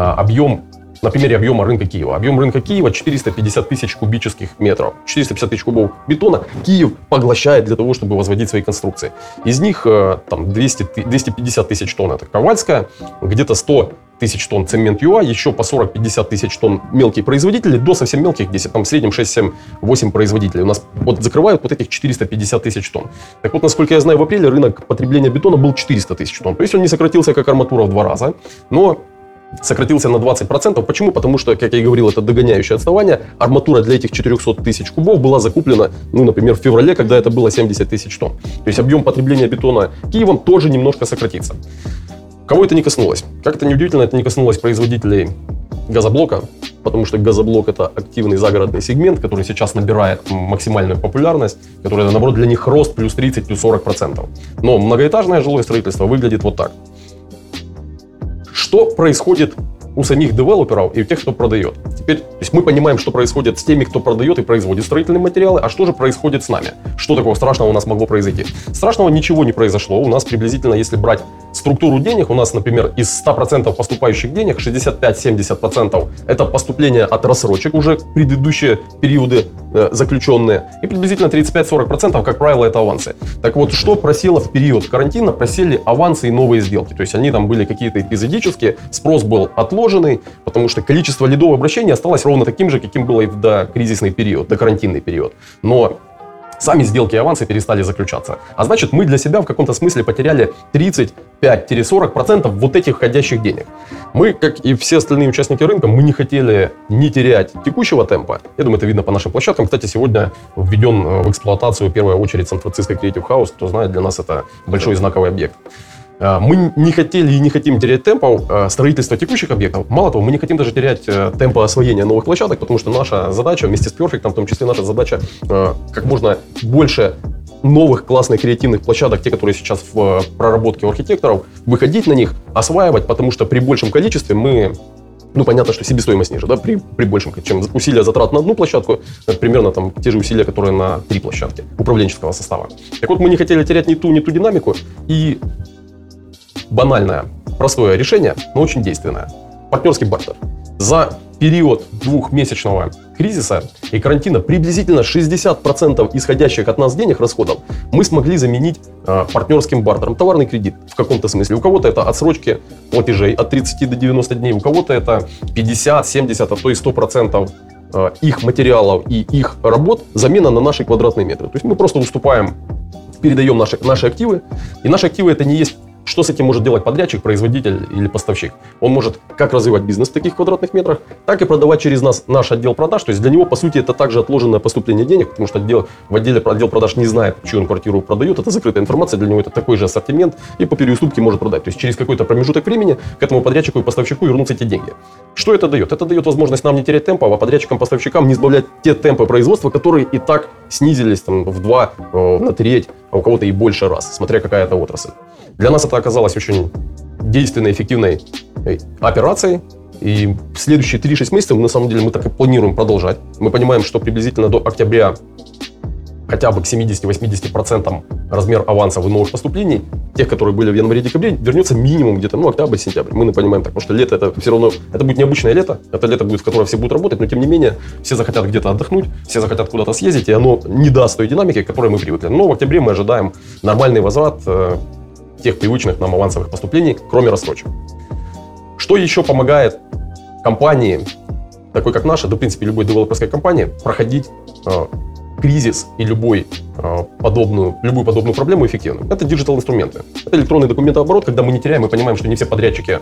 D: на примере объема рынка Киева. Объем рынка Киева 450 тысяч кубических метров. 450 тысяч кубов бетона Киев поглощает для того, чтобы возводить свои конструкции. Из них там 250 тысяч тонн это Ковальская, где-то 100 тысяч тонн цемент ЮА, еще по 40-50 тысяч тонн мелкие производители, до совсем мелких, где там в среднем 6-7-8 производителей. У нас вот закрывают вот этих 450 тысяч тонн. Так вот, насколько я знаю, в апреле рынок потребления бетона был 400 тысяч тонн. То есть он не сократился, как арматура, в 2 раза, но сократился на 20%. Почему? Потому что, как я и говорил, это догоняющее отставание. Арматура для этих 400 тысяч кубов была закуплена, например, в феврале, когда это было 70 тысяч тонн. То есть объем потребления бетона Киевом тоже немножко сократится. Кого это не коснулось? Как это неудивительно, это не коснулось производителей газоблока, потому что газоблок – это активный загородный сегмент, который сейчас набирает максимальную популярность, который, наоборот, для них рост плюс 30, плюс 40%. Но многоэтажное жилое строительство выглядит вот так. Что происходит у самих девелоперов и у тех, кто продает? Теперь, то есть мы понимаем, что происходит с теми, кто продает и производит строительные материалы, а что же происходит с нами? Что такого страшного у нас могло произойти? Страшного ничего не произошло. У нас приблизительно, если брать структуру денег, у нас, например, из 100% поступающих денег 65-70% это поступление от рассрочек, уже предыдущие периоды заключенные, и приблизительно 35-40%, как правило, это авансы. Так вот, что просело в период карантина? Просели авансы и новые сделки. То есть они там были какие-то эпизодические, спрос был отложенный, потому что количество лидов обращений осталось ровно таким же, каким было и в докризисный период, докарантинный период. Но сами сделки и авансы перестали заключаться. А значит, мы для себя в каком-то смысле потеряли 35-40% вот этих входящих денег. Мы, как и все остальные участники рынка, мы не хотели не терять текущего темпа. Я думаю, это видно по нашим площадкам. Кстати, сегодня введен в эксплуатацию в первую очередь Сан-Франциско Creative House. Кто знает, для нас это большой знаковый объект. Мы не хотели и не хотим терять темпов строительства текущих объектов. Мало того, мы не хотим даже терять темпа освоения новых площадок, потому что наша задача, вместе с Perfect, в том числе наша задача, как можно больше новых классных креативных площадок, те, которые сейчас в проработке у архитекторов, выходить на них, осваивать, потому что при большем количестве мы... понятно, что себестоимость ниже, да, при большем, чем усилия затрат на одну площадку, примерно там те же усилия, которые на 3 площадки управленческого состава. Так вот, мы не хотели терять ни ту динамику, и банальное, простое решение, но очень действенное. Партнерский бартер. За период двухмесячного кризиса и карантина приблизительно 60% исходящих от нас денег, расходов, мы смогли заменить партнерским бартером. Товарный кредит в каком-то смысле. У кого-то это отсрочки платежей от 30 до 90 дней, у кого-то это 50, 70, а то и 100% их материалов и их работ замена на наши квадратные метры. То есть мы просто уступаем, передаем наши активы, и наши активы это не есть. Что с этим может делать подрядчик, производитель или поставщик? Он может как развивать бизнес в таких квадратных метрах, так и продавать через нас наш отдел продаж. То есть для него, по сути, это также отложенное поступление денег, потому что отдел продаж не знает, чью он квартиру продает. Это закрытая информация, для него это такой же ассортимент, и по переуступке может продать. То есть через какой-то промежуток времени к этому подрядчику и поставщику вернутся эти деньги. Что это дает? Это дает возможность нам не терять темпа, а подрядчикам, поставщикам не сбавлять те темпы производства, которые и так снизились там, в 2, на треть, а у кого-то и больше раз, смотря какая это отрасль. Для нас это оказалось очень действенной, эффективной операцией. И в следующие 3-6 месяцев, на самом деле, мы так и планируем продолжать. Мы понимаем, что приблизительно до октября хотя бы к 70-80% размер авансов и новых поступлений, тех, которые были в январе-декабре, вернется минимум где-то, октябрь-сентябрь. Мы понимаем так, потому что лето это все равно, это будет необычное лето, это лето будет, в которое все будут работать, но тем не менее, все захотят где-то отдохнуть, все захотят куда-то съездить, и оно не даст той динамики, к которой мы привыкли. Но в октябре мы ожидаем нормальный возврат тех привычных нам авансовых поступлений, кроме рассрочек. Что еще помогает компании, такой как наша, да в принципе любой девелоперской компании, проходить кризис и любую подобную проблему эффективно? Это диджитал-инструменты. Это электронный документооборот, когда мы не теряем, мы понимаем, что не все подрядчики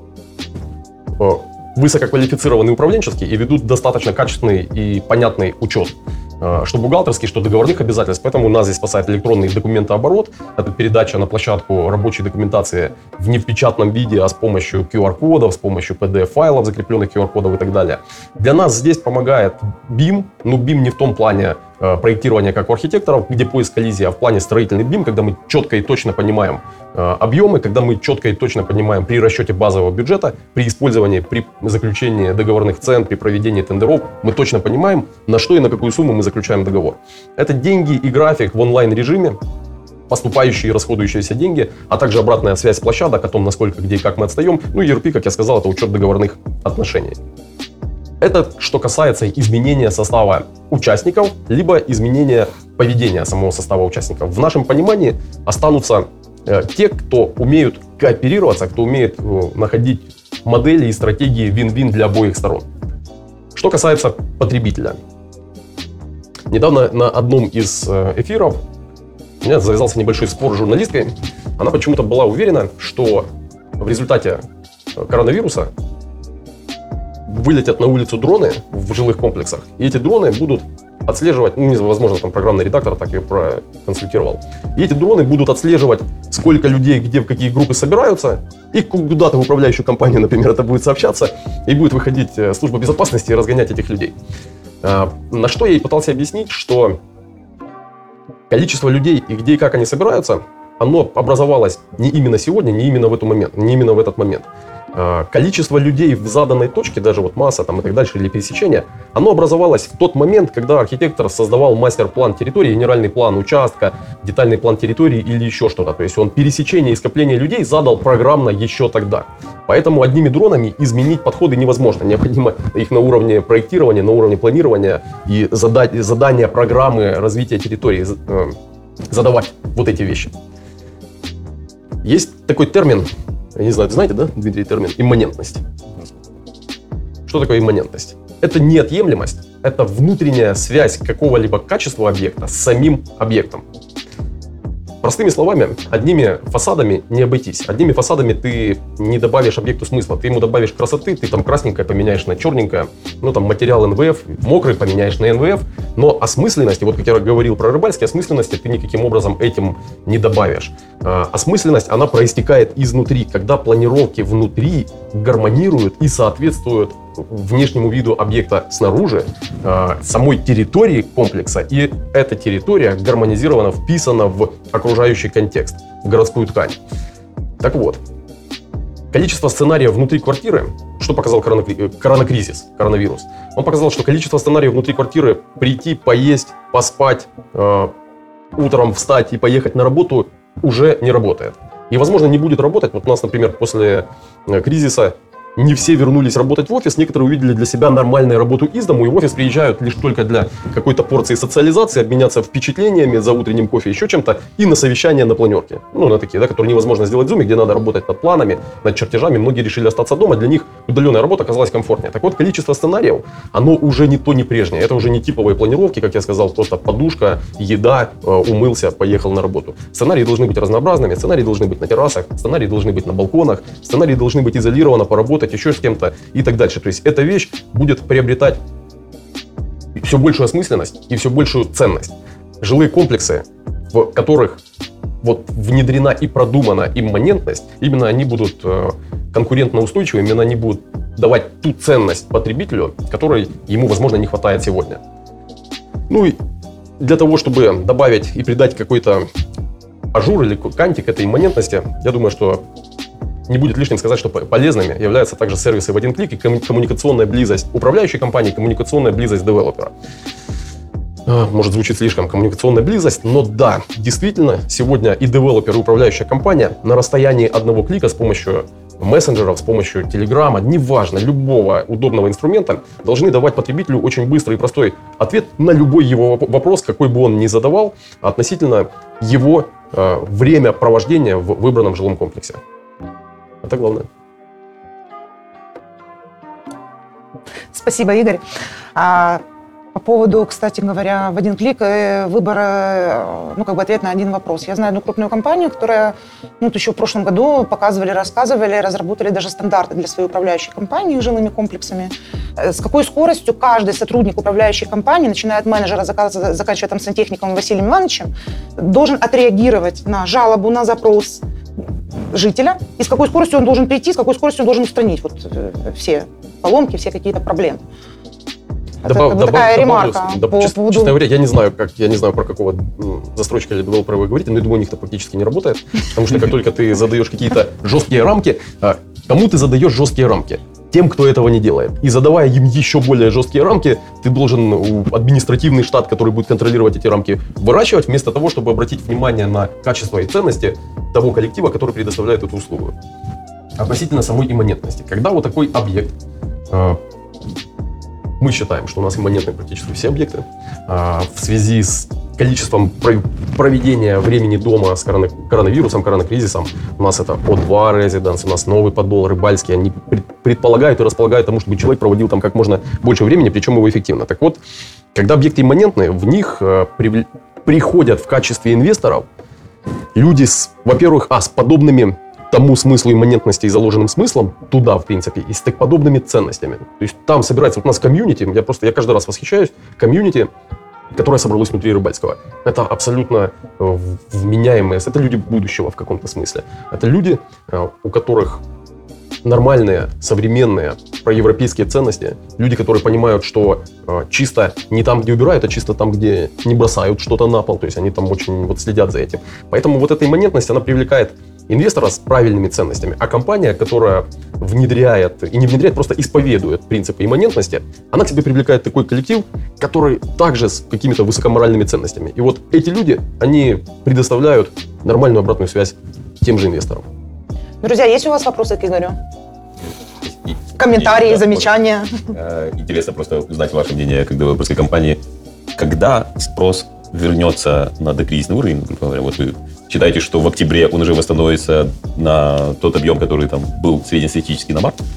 D: высококвалифицированные управленческие и ведут достаточно качественный и понятный учет, что бухгалтерский, что договорных обязательств. Поэтому нас здесь спасает электронный документооборот. Это передача на площадку рабочей документации в непечатном виде, а с помощью QR-кодов, с помощью PDF-файлов, закрепленных QR-кодов и так далее. Для нас здесь помогает BIM. Но BIM не в том плане проектирования, как у архитекторов, где поиск коллизии, а в плане строительный BIM, когда мы четко и точно понимаем объемы, когда мы четко и точно понимаем при расчете базового бюджета, при использовании, при заключении договорных цен, при проведении тендеров, мы точно понимаем, на что и на какую сумму мы заключаем договор. Это деньги и график в онлайн-режиме, поступающие и расходующиеся деньги, а также обратная связь с площадок о том, насколько, где и как мы отстаем. Ну и ERP, как я сказал, это учет договорных отношений. Это что касается изменения состава участников, либо изменения поведения самого состава участников. В нашем понимании останутся те, кто умеют кооперироваться, кто умеет находить модели и стратегии вин-вин для обоих сторон. Что касается потребителя. Недавно на одном из эфиров у меня завязался небольшой спор с журналисткой. Она почему-то была уверена, что в результате коронавируса вылетят на улицу дроны в жилых комплексах, и эти дроны будут отслеживать, возможно, там программный редактор так ее проконсультировал. И эти дроны будут отслеживать, сколько людей, где, в какие группы собираются, и куда-то в управляющую компанию, например, это будет сообщаться, и будет выходить служба безопасности и разгонять этих людей. На что я и пытался объяснить, что количество людей и где и как они собираются, оно образовалось не именно сегодня, не именно в этот момент. Количество людей в заданной точке, даже вот масса там и так дальше, или пересечение, оно образовалось в тот момент, когда архитектор создавал мастер-план территории, генеральный план участка, детальный план территории или еще что-то. То есть он пересечение и скопление людей задал программно еще тогда. Поэтому одними дронами изменить подходы невозможно. Необходимо их на уровне проектирования, на уровне планирования и задания программы развития территории задавать вот эти вещи. Есть такой термин, я не знаю, знаете, да, Дмитрий, термин имманентность. Что такое имманентность? Это неотъемлемость, это внутренняя связь какого-либо качества объекта с самим объектом. Простыми словами, одними фасадами не обойтись. Одними фасадами ты не добавишь объекту смысла. Ты ему добавишь красоты, ты там красненькое поменяешь на черненькое, там материал НВФ, мокрый поменяешь на НВФ, но осмысленности, вот как я говорил про рыбальские, осмысленности ты никаким образом этим не добавишь. Осмысленность, она проистекает изнутри, когда планировки внутри гармонируют и соответствуют внешнему виду объекта снаружи, самой территории комплекса, и эта территория гармонизирована, вписана в окружающий контекст, в городскую ткань. Так вот, количество сценариев внутри квартиры, что показал коронавирус? Он показал, что количество сценариев внутри квартиры прийти, поесть, поспать, утром встать и поехать на работу уже не работает. И, возможно, не будет работать. Вот у нас, например, после кризиса не все вернулись работать в офис, некоторые увидели для себя нормальную работу из дому, и в офис приезжают лишь только для какой-то порции социализации, обменяться впечатлениями за утренним кофе, еще чем-то, и на совещания на планерке. На такие, да, которые невозможно сделать в Zoom, где надо работать над планами, над чертежами. Многие решили остаться дома, для них удаленная работа оказалась комфортнее. Так вот, количество сценариев, оно уже не то, не прежнее. Это уже не типовые планировки, как я сказал, просто подушка, еда, умылся, поехал на работу. Сценарии должны быть разнообразными, сценарии должны быть на террасах, сценарии должны быть на балконах, сценарии должны быть изолированы, поработать еще с кем-то и так дальше. То есть эта вещь будет приобретать все большую осмысленность и все большую ценность. Жилые комплексы, в которых вот внедрена и продумана имманентность, именно они будут конкурентно устойчивы, именно они будут давать ту ценность потребителю, которой ему, возможно, не хватает сегодня. И для того, чтобы добавить и придать какой-то ажур или кантик этой имманентности, я думаю, что не будет лишним сказать, что полезными являются также сервисы в один клик и коммуникационная близость управляющей компании, коммуникационная близость девелопера. Может, звучит слишком коммуникационная близость, но да, действительно, сегодня и девелопер, и управляющая компания на расстоянии одного клика с помощью мессенджеров, с помощью телеграмма, неважно, любого удобного инструмента, должны давать потребителю очень быстрый и простой ответ на любой его вопрос, какой бы он ни задавал, относительно его время провождения в выбранном жилом комплексе. Это главное.
B: Спасибо, Игорь. По поводу, кстати говоря, в один клик выбора, ответ на один вопрос. Я знаю одну крупную компанию, которая еще в прошлом году показывали, рассказывали, разработали даже стандарты для своей управляющей компании жилыми комплексами. С какой скоростью каждый сотрудник управляющей компании, начиная от менеджера, заканчивая там сантехником Василием Ивановичем, должен отреагировать на жалобу, на запрос жителя, и с какой скоростью он должен прийти, с какой скоростью он должен устранить все поломки, все какие-то проблемы. Такая ремарка.
D: Честно говоря, я не знаю, про какого застройщика или девелопера вы говорите, но я думаю, у них это практически не работает, потому что как только ты задаешь какие-то жесткие рамки, кому ты задаешь жесткие рамки? Тем, кто этого не делает. И задавая им еще более жесткие рамки, ты должен административный штат, который будет контролировать эти рамки, выращивать, вместо того, чтобы обратить внимание на качество и ценности того коллектива, который предоставляет эту услугу. Относительно самой имманентности. Когда вот такой объект, мы считаем, что у нас имманентны практически все объекты, в связи с количеством проведения времени дома с коронавирусом, коронакризисом, у нас это O2 Residence, у нас новый подол, рыбальский, они предполагают и располагают тому, чтобы человек проводил там как можно больше времени, причем его эффективно. Так вот, когда объекты имманентные, в них приходят в качестве инвесторов люди во-первых, с подобными тому смыслу имманентности и заложенным смыслом туда, в принципе, и с так подобными ценностями. То есть там собирается, вот у нас комьюнити, я каждый раз восхищаюсь, комьюнити которое собралось внутри Рыбальского. Это абсолютно вменяемые, это люди будущего в каком-то смысле. Это люди, у которых нормальные, современные, проевропейские ценности. Люди, которые понимают, что чисто не там, где убирают, а чисто там, где не бросают что-то на пол. То есть они там очень вот следят за этим. Поэтому вот эта имманентность, она привлекает инвестора с правильными ценностями. А компания, которая внедряет, и не внедряет, просто исповедует принципы имманентности, она к себе привлекает такой коллектив, который также с какими-то высокоморальными ценностями. И вот эти люди, они предоставляют нормальную обратную связь тем же инвесторам.
B: Друзья, есть у вас вопросы к Игорю? Комментарии,
C: да,
B: замечания?
C: Интересно просто узнать ваше мнение как девелоперской компании. Когда спрос вернется на докризисный уровень, грубо говоря, вот вы считаете, что в октябре он уже восстановится на тот объем, который там был среднестатистический на март?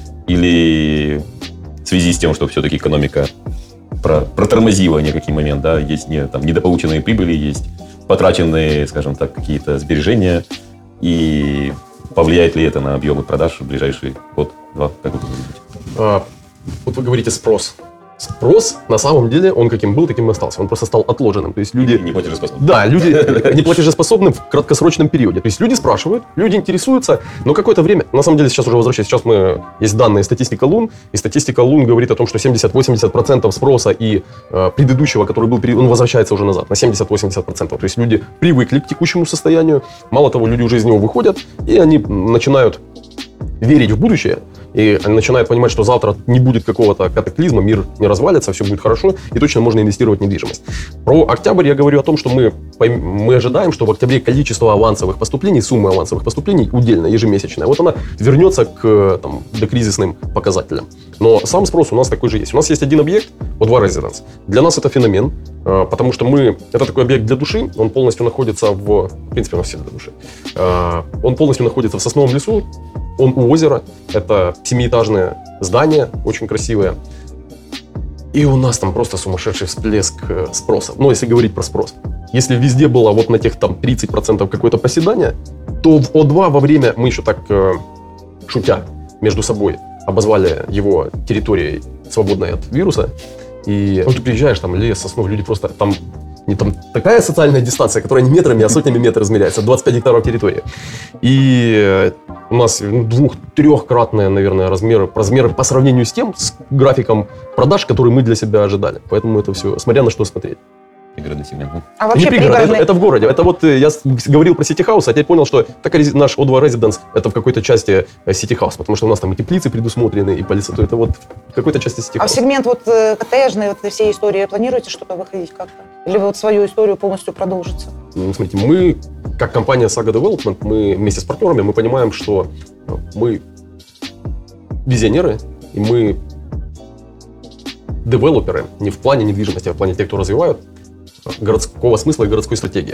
C: Или в связи с тем, что все-таки экономика протормозила некий момент, да, есть недополученные прибыли, есть потраченные, скажем так, какие-то сбережения, и повлияет ли это на объемы продаж в ближайший год-два? Как вы думаете?
D: Вот вы говорите спрос. Спрос, на самом деле, он каким был, таким и остался. Он просто стал отложенным. То есть люди...
C: Не платежеспособны.
D: Да, люди не платежеспособны в краткосрочном периоде. То есть люди спрашивают, люди интересуются, но какое-то время... На самом деле, сейчас уже возвращаюсь. Сейчас есть данные статистика Лун, и статистика Лун говорит о том, что 70-80% спроса и предыдущего, который был, он возвращается уже назад на 70-80%. То есть люди привыкли к текущему состоянию. Мало того, люди уже из него выходят, и они начинают верить в будущее, и они начинают понимать, что завтра не будет какого-то катаклизма, мир не развалится, все будет хорошо, и точно можно инвестировать в недвижимость. Про октябрь я говорю о том, что мы ожидаем, что в октябре количество авансовых поступлений, сумма авансовых поступлений удельная, ежемесячная, вот она вернется к докризисным показателям. Но сам спрос у нас такой же есть. У нас есть один объект, O2 Residence. Для нас это феномен, потому что это такой объект для души, он полностью находится в принципе, у нас все для души. Он полностью находится в сосновом лесу, он у озера, это 7-этажное здание, очень красивое. И у нас там просто сумасшедший всплеск спроса. Ну, если говорить про спрос. Если везде было вот на тех там 30% какое-то проседание, то в О2 во время, мы еще так шутя между собой, обозвали его территорией, свободной от вируса. И вот ты приезжаешь, там лес, сосну, люди просто там... Не там такая социальная дистанция, которая не метрами, а сотнями метров измеряется, 25 гектаров территории. И у нас 2-3-кратные, наверное, размеры по сравнению с тем, с графиком продаж, который мы для себя ожидали. Поэтому это все, смотря на что смотреть.
C: Пригородный сегмент.
B: А вообще
D: не пригород, это в городе. Это вот я говорил про City House, а теперь понял, что наш O2 Residence это в какой-то части City House, потому что у нас там и теплицы предусмотрены, и полиция. Это вот в какой-то части City House.
B: А в сегмент вот коттеджный, вот всей истории планируете что-то выходить как-то? Или вы вот свою историю полностью продолжите?
D: Смотрите, мы, как компания Saga Development, мы вместе с партнерами, мы понимаем, что мы визионеры, и мы девелоперы не в плане недвижимости, а в плане тех, кто развивают городского смысла и городской стратегии.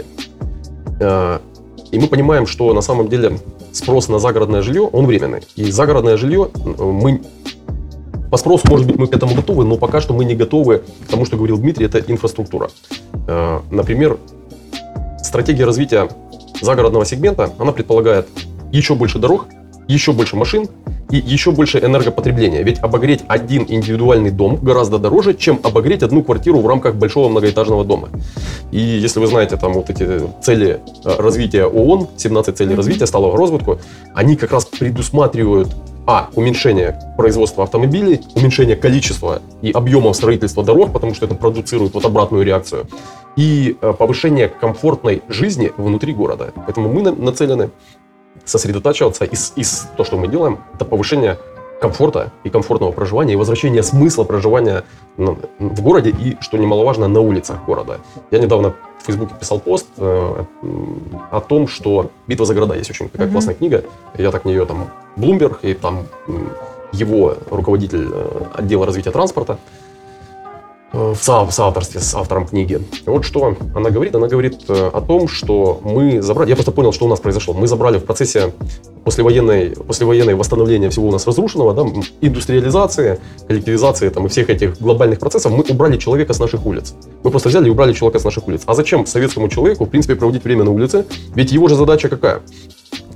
D: И мы понимаем, что на самом деле спрос на загородное жилье, он временный. И загородное жилье, по спросу, может быть, мы к этому готовы, но пока что мы не готовы к тому, что говорил Дмитрий, это инфраструктура. Например, стратегия развития загородного сегмента, она предполагает еще больше дорог, еще больше машин и еще больше энергопотребления. Ведь обогреть один индивидуальный дом гораздо дороже, чем обогреть одну квартиру в рамках большого многоэтажного дома. И если вы знаете там вот эти цели развития ООН, 17 целей развития сталого розвитку, они как раз предусматривают уменьшение производства автомобилей, уменьшение количества и объемов строительства дорог, потому что это продуцирует вот обратную реакцию, и повышение комфортной жизни внутри города. Поэтому мы нацелены сосредотачиваться, и то, что мы делаем, это повышение комфорта и комфортного проживания, и возвращение смысла проживания в городе и, что немаловажно, на улицах города. Я недавно в Фейсбуке писал пост о том, что «Битва за города» есть очень такая классная книга. Я так в нее там Bloomberg, и там его руководитель отдела развития транспорта в соавторстве с автором книги. Вот что она говорит. Она говорит о том, что мы забрали... Я просто понял, что у нас произошло. Мы забрали в процессе послевоенное восстановления всего у нас разрушенного, да, индустриализации, коллективизации там, и всех этих глобальных процессов, мы убрали человека с наших улиц. Мы просто взяли и убрали человека с наших улиц. А зачем советскому человеку, в принципе, проводить время на улице? Ведь его же задача какая?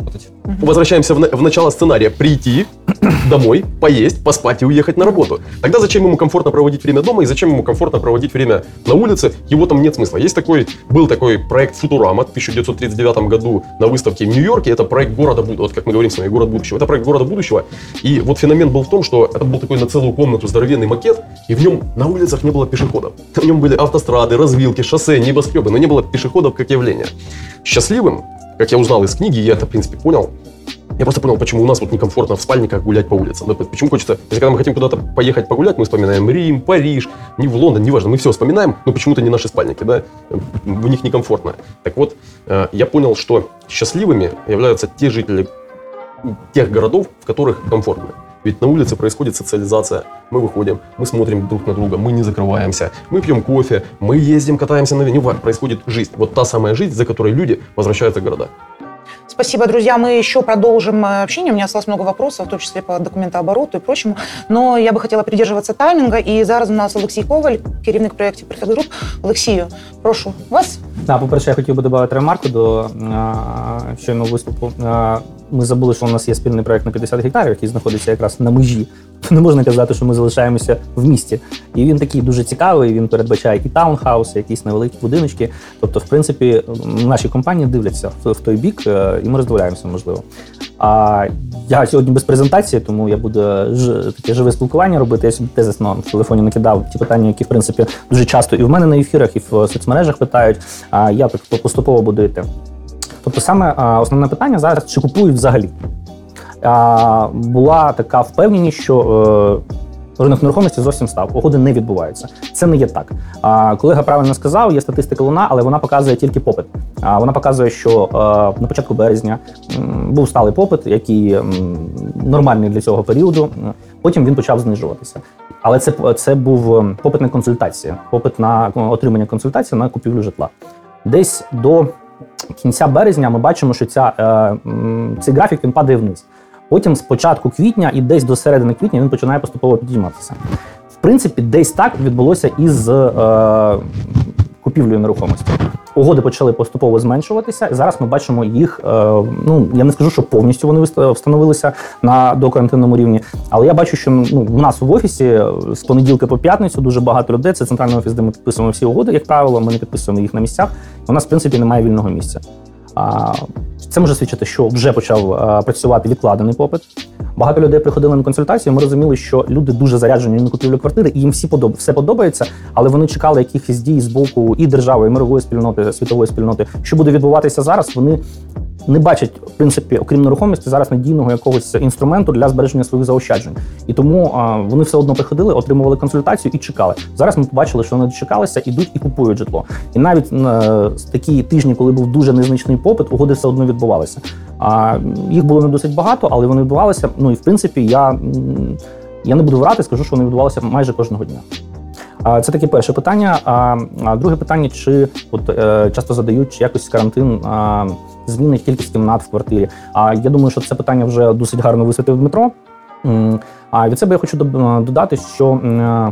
D: Возвращаемся в начало сценария. Прийти домой, поесть, поспать и уехать на работу. Тогда зачем ему комфортно проводить время дома и зачем ему комфортно проводить время на улице? Его там нет смысла. Был такой проект «Футурама» в 1939 году на выставке в Нью-Йорке. Это проект города будущего. Вот как мы говорим с вами, город будущего. Это проект города будущего. И вот феномен был в том, что это был такой на целую комнату здоровенный макет, и в нем на улицах не было пешеходов. В нем были автострады, развилки, шоссе, небоскребы, но не было пешеходов как явления. Счастливым, как я узнал из книги, я это, в принципе, понял. Я просто понял, почему у нас вот некомфортно в спальниках гулять по улицам. Да, почему хочется, если когда мы хотим куда-то поехать погулять, мы вспоминаем Рим, Париж, не в Лондон, неважно, мы все вспоминаем, но почему-то не наши спальники, да, в них некомфортно. Так вот, я понял, что счастливыми являются те жители тех городов, в которых комфортно. Ведь на улице происходит социализация. Мы выходим, мы смотрим друг на друга, мы не закрываемся, мы пьем кофе, мы ездим, катаемся на вине. Происходит жизнь. Вот та самая жизнь, за которой люди возвращаются в города.
B: Спасибо, друзья. Мы еще продолжим общение. У меня осталось много вопросов, в том числе по документообороту и прочему. Но я бы хотела придерживаться таймінга. І зараз у нас Олексій Коваль, керівник проєктів Perfect Group. Олексію, прошу вас.
E: По-перше, я хотів би додати ремарку до щойного виступу. Ми забули, що у нас є спільний проєкт на 50 гектарів, який знаходиться якраз на межі. Не можна казати, що ми залишаємося в місті. І він такий дуже цікавий, він передбачає і таунхауси, якісь невеликі будиночки. Тобто, в принципі, наші компанії дивляться в той бік, і ми роздивляємося, можливо. Я сьогодні без презентації, тому я буду таке живе спілкування робити. Я собі тезисно в телефоні накидав ті питання, які, в принципі, дуже часто і в мене на ефірах, і в соцмережах питають. Я так поступово буду йти. Тобто саме основне питання зараз, чи купують взагалі. Була така впевненість, що ринок нерухомості зовсім став, угоди не відбуваються. Це не є так. Колега правильно сказав, є статистика Луна, але вона показує тільки попит. Вона показує, що на початку березня був сталий попит, який нормальний для цього періоду, потім він почав знижуватися. Але це був попит на консультації, попит на отримання консультації на купівлю житла. Десь до кінця березня ми бачимо, що цей графік він падає вниз. Потім з початку квітня і десь до середини квітня він починає поступово підійматися. В принципі, десь так відбулося і з купівлею нерухомості. Угоди почали поступово зменшуватися, і зараз ми бачимо їх, я не скажу, що повністю вони встановилися на докарантинному рівні, але я бачу, що у нас в офісі з понеділка по п'ятницю дуже багато людей, це центральний офіс, де ми підписуємо всі угоди, як правило, ми не підписуємо їх на місцях, у нас, в принципі, немає вільного місця. Це може свідчити, що вже почав працювати відкладений попит. Багато людей приходили на консультацію, ми розуміли, що люди дуже заряджені на купівлю квартири, і їм все подобається, але вони чекали якихось дій з боку і держави, і мирової спільноти, світової спільноти. Що буде відбуватися зараз, вони не бачать, в принципі, окрім нерухомості, зараз надійного якогось інструменту для збереження своїх заощаджень. І тому вони все одно приходили, отримували консультацію і чекали. Зараз ми побачили, що вони дочекалися, ідуть і купують житло. І навіть з такі тижні, коли був дуже незначний попит, угоди все одно відбувалися. Їх було не досить багато, але вони відбувалися. І в принципі, я не буду врати, скажу, що вони відбувалися майже кожного дня. Це таке перше питання. А друге питання, чи часто задають, чи якось карантин змінить кількість кімнат в квартирі. Я думаю, що це питання вже досить гарно висвітив Дмитро. Від себе я хочу додати, що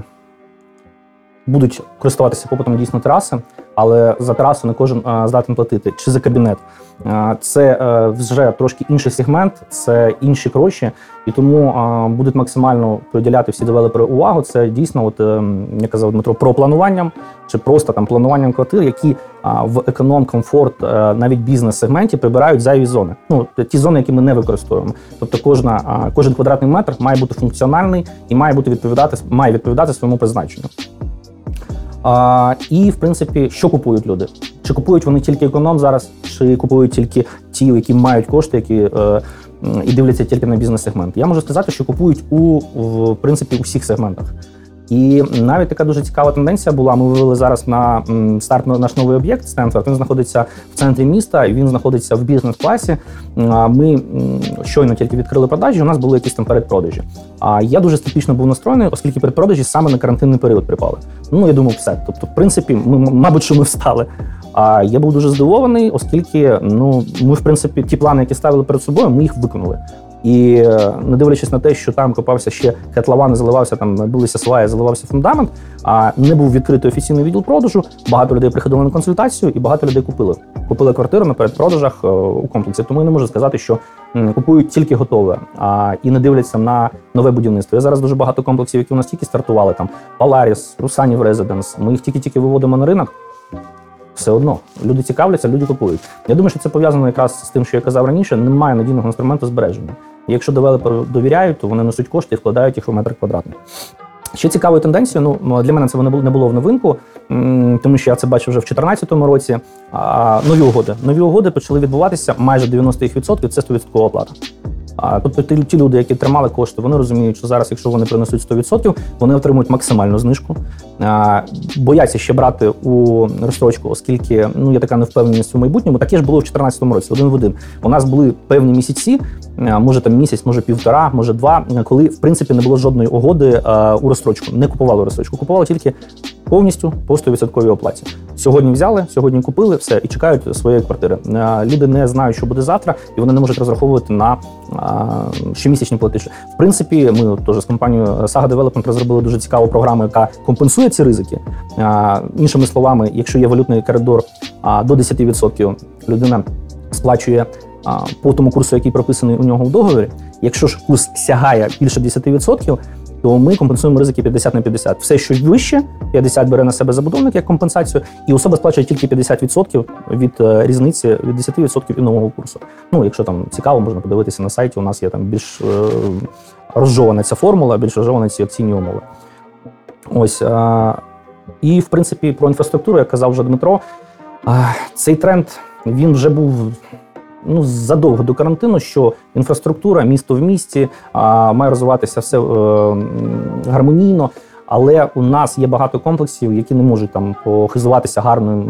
E: будуть користуватися попитом дійсно тераси, але за терасу не кожен здатен платити, чи за кабінет. Це вже трошки інший сегмент, це інші гроші, і тому будуть максимально приділяти всі девелопери увагу. Це дійсно, як казав Дмитро, про плануванням, чи просто плануванням квартир, які в економ, комфорт, навіть бізнес-сегменті прибирають зайві зони. Ті зони, які ми не використовуємо. Тобто кожен квадратний метр має бути функціональний і має відповідати своєму призначенню. І, в принципі, що купують люди? Чи купують вони тільки економ зараз, чи купують тільки ті, які мають кошти, які і дивляться тільки на бізнес-сегмент? Я можу сказати, що купують в принципі, у всіх сегментах. І навіть така дуже цікава тенденція була. Ми вивели зараз на старт наш новий об'єкт Стенфорд. Він знаходиться в центрі міста, він знаходиться в бізнес-класі. Ми щойно тільки відкрили продажі, у нас були якісь там передпродажі. Я дуже скептично був настроєний, оскільки передпродажі саме на карантинний період припали. Я думав, все. Тобто, в принципі, мабуть, що ми встали. Я був дуже здивований, оскільки ми, в принципі, ті плани, які ставили перед собою, ми їх виконали. І не дивлячись на те, що там копався ще котлован, заливався, там билися сваї, заливався фундамент, а не був відкритий офіційний відділ продажу, багато людей приходили на консультацію і багато людей купили квартиру на передпродажах у комплексі. Тому я не можу сказати, що купують тільки готове, і не дивляться на нове будівництво. Я зараз дуже багато комплексів, які у нас тільки стартували, там Polaris, Русанів Резиденс, ми їх тільки виводимо на ринок. Все одно. Люди цікавляться, люди купують. Я думаю, що це пов'язано якраз з тим, що я казав раніше, немає надійного інструменту збереження. І якщо девелоперу довіряють, то вони несуть кошти і вкладають їх у метр квадратний. Ще цікавою тенденцією, для мене це не було в новинку, тому що я це бачив вже в 2014 році. Нові угоди почали відбуватися майже 90% – це 100% оплата. Тобто ті люди, які тримали кошти, вони розуміють, що зараз, якщо вони принесуть 100%, вони отримують максимальну знижку. Бояться ще брати у розстрочку, оскільки є така невпевненість у майбутньому. Таке ж було в 2014 році, один в один. У нас були певні місяці, може там місяць, може півтора, може два, коли в принципі не було жодної угоди у розстрочку. Не купували розстрочку, купували тільки повністю по 100% оплаті. Сьогодні взяли, сьогодні купили, все, і чекають своєї квартири. Люди не знають, що буде завтра, і вони не можуть розраховувати на щомісячні платежі. В принципі, ми теж з компанією Saga Development розробили дуже цікаву програму, яка компенсує ці ризики. Іншими словами, якщо є валютний коридор до 10%, людина сплачує по тому курсу, який прописаний у нього в договорі. Якщо ж курс сягає більше 10%, то ми компенсуємо ризики 50/50. Все, що вище, 50 бере на себе забудовник як компенсацію, і особа сплачує тільки 50% від різниці, від 10% і нового курсу. Якщо там цікаво, можна подивитися на сайті, у нас є там більш розжована ця формула, більш розжовані ці акційні умови. Ось. І, в принципі, про інфраструктуру, як казав вже Дмитро, цей тренд, він вже був задовго до карантину, що інфраструктура, місто в місті, має розвиватися все гармонійно, але у нас є багато комплексів, які не можуть там похизуватися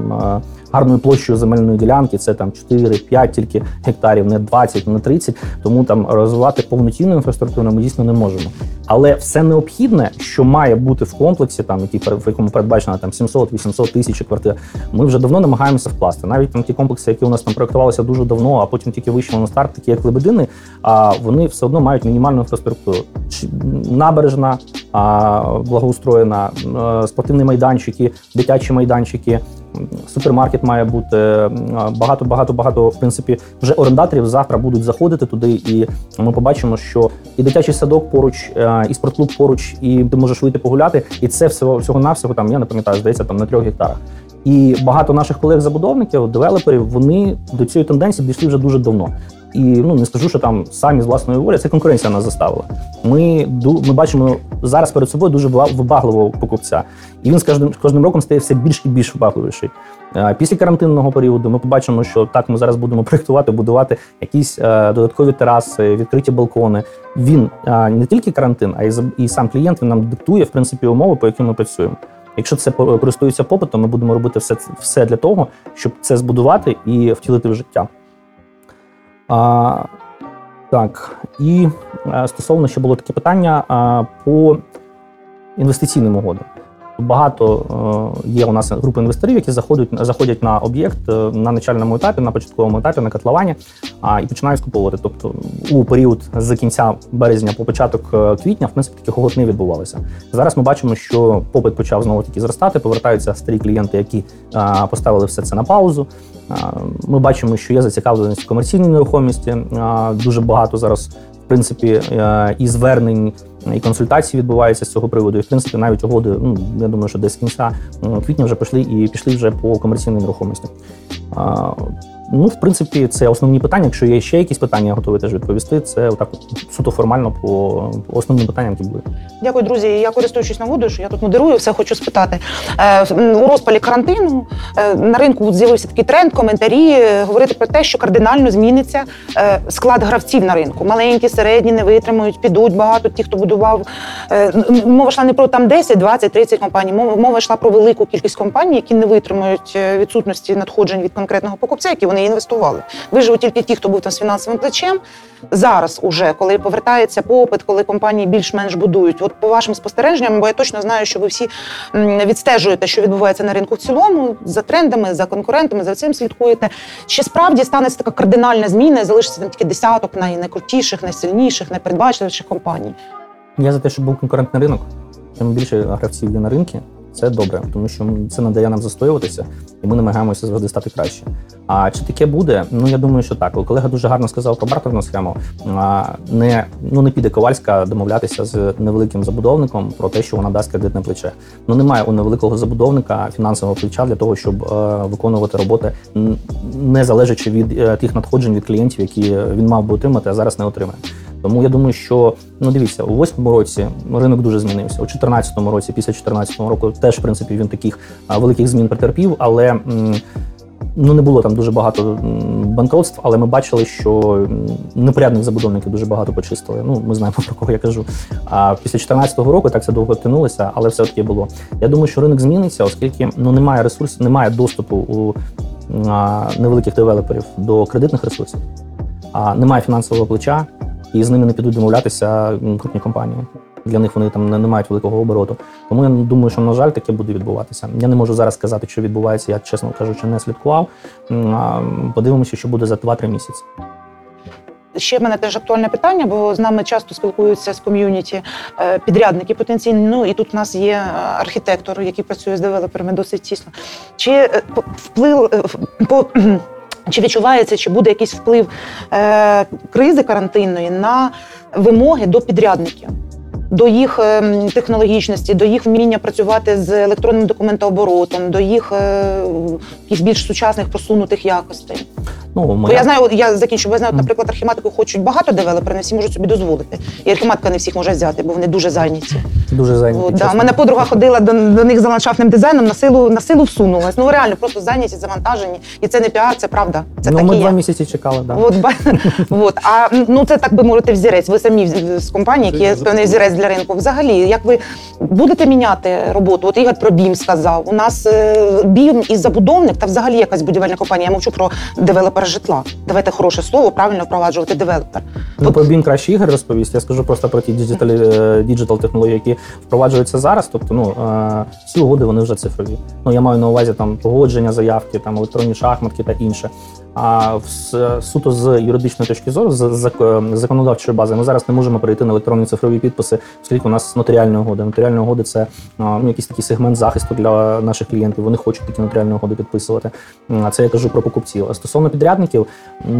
E: гарною площею земельної ділянки, це там 4-5 тільки гектарів, не 20, не 30, тому там розвивати повноцінну інфраструктуру ми дійсно не можемо. Але все необхідне, що має бути в комплексі, там, в якому передбачено 700-800 тисяч квартир, ми вже давно намагаємося вкласти. Навіть там ті комплекси, які у нас там проєктувалися дуже давно, а потім тільки вийшли на старт, такі як Лебедини, вони все одно мають мінімальну інфраструктуру. Набережна, благоустроєна, спортивні майданчики, дитячі майданчики, супермаркет має бути, багато, в принципі, вже орендаторів завтра будуть заходити туди, і ми побачимо, що і дитячий садок поруч, і спортклуб поруч, і ти можеш вийти погуляти, і це всього-навсього, там, я не пам'ятаю, здається, там на 3 гектарах. І багато наших колег-забудовників, девелоперів, вони до цієї тенденції дійшли вже дуже давно. І не скажу, що там самі з власної волі, це конкуренція нас заставила. Ми бачимо зараз перед собою дуже вибагливого покупця. І він з кожним роком стає все більш і більш вибагливіший. Після карантинного періоду ми побачимо, що так, ми зараз будемо проєктувати, будувати якісь додаткові тераси, відкриті балкони. Він не тільки карантин, а і сам клієнт, він нам диктує, в принципі, умови, по яким ми працюємо. Якщо це користується попитом, ми будемо робити все для того, щоб це збудувати і втілити в життя. Так, і стосовно ще було таке питання по інвестиційним угодам. Багато є у нас групи інвесторів, які заходять на об'єкт на начальному етапі, на початковому етапі, на котловані, і починають скуповувати. Тобто у період з кінця березня по початок квітня, в принципі, таких угод не відбувалося. Зараз ми бачимо, що попит почав знову-таки зростати, повертаються старі клієнти, які поставили все це на паузу. Ми бачимо, що є зацікавленість в комерційній нерухомості, дуже багато зараз, в принципі, і звернень, і консультації відбуваються з цього приводу. І, в принципі, навіть угоди, я думаю, що десь з кінця квітня вже пішли вже по комерційній нерухомості. В принципі, це основні питання. Якщо є ще якісь питання, я готовий теж відповісти. Це отак суто формально по основним питанням, які були.
B: Дякую, друзі. Я, користуючись нагодою, що я тут модерую, все хочу спитати. У розпалі карантину на ринку з'явився такий тренд, коментарі, говорити про те, що кардинально зміниться склад гравців на ринку. Маленькі, середні не витримують, підуть багато ті, хто будував. Мова йшла не про там 10, 20, 30 компаній, мова йшла про велику кількість компаній, які не витримують відсутності надходжень від конкретного покупця, які вони вони інвестували. Виживуть тільки ті, хто був там з фінансовим плечем. Зараз уже, коли повертається попит, коли компанії більш-менш будують. От по вашим спостереженням, бо я точно знаю, що ви всі відстежуєте, що відбувається на ринку в цілому, за трендами, за конкурентами, за цим слідкуєте. Чи справді станеться така кардинальна зміна і залишиться там тільки десяток найкрутіших, найсильніших, найпередбачливіших компаній?
E: Я за те, щоб був конкурентний ринок. Чим більше гравців є на ринку, це добре, тому що це не дає нам застоюватися, і ми намагаємося завжди стати краще. А чи таке буде? Ну, я думаю, що так. Колега дуже гарно сказав про бартерну схему. Не піде Ковальська домовлятися з невеликим забудовником про те, що вона дасть кредитне плече. Ну, немає у невеликого забудовника фінансового плеча для того, щоб виконувати роботи, не залежачи від тих надходжень від клієнтів, які він мав би отримати, а зараз не отримає. Тому я думаю, що, дивіться, у 2008 році ринок дуже змінився. У 2014 році, після 2014 року, теж, в принципі, він таких великих змін претерпів, але не було там дуже багато банкротств, але ми бачили, що непорядних забудовників дуже багато почистили. Ми знаємо, про кого я кажу. А після 2014 року так це довго тягнулося, але все-таки було. Я думаю, що ринок зміниться, оскільки немає ресурсів, немає доступу у невеликих девелоперів до кредитних ресурсів, немає фінансового плеча, і з ними не підуть домовлятися крупні компанії. Для них вони там не мають великого обороту. Тому я думаю, що, на жаль, таке буде відбуватися. Я не можу зараз сказати, що відбувається, я, чесно кажучи, не слідкував. Подивимося, що буде за 2-3 місяці.
B: Ще в мене теж актуальне питання, бо з нами часто спілкуються з ком'юніті підрядники потенційні. І тут у нас є архітектор, який працює з девелоперами досить тісно. Чи Чи відчувається, чи буде якийсь вплив кризи карантинної на вимоги до підрядників, до їх технологічності, до їх вміння працювати з електронним документооборотом, до їх якихось більш сучасних просунутих якостей? Бо я знаю, я закінчу, бо я знаю, наприклад, архіматику хочуть багато девелоперів, не всі можуть собі дозволити. І архіматика не всіх може взяти, бо вони дуже зайняті.
E: Дуже зайняті.
B: У мене подруга ходила до них за ландшафтним дизайном, на силу всунулась. Реально, просто зайняті, завантажені. І це не піар, це правда. Це
E: ми 2 місяці чекали, так.
B: Це, так би мовити, взірець. Ви самі з компанії, які є певний взірець для ринку. Взагалі, як ви будете міняти роботу? От Ігор про BIM сказав. У нас BIM і забудовник, та взагалі якась будівельна компанія. Я мовчу про девелопера житла. Давайте хороше слово, правильно впроваджувати девелопер.
E: Про BIM краще Ігор розповість. Я скажу просто про ті діджитал технології, які впроваджуються зараз. Тобто, всі угоди, вони вже цифрові. Я маю на увазі там погодження заявки, там електронні шахматки та інше. А суто з юридичної точки зору, з законодавчої бази, ми зараз не можемо перейти на електронні цифрові підписи, оскільки у нас нотаріальні угоди. Нотаріальні угоди – це якийсь такий сегмент захисту для наших клієнтів. Вони хочуть такі нотаріальні угоди підписувати. Це я кажу про покупців. А стосовно підрядників,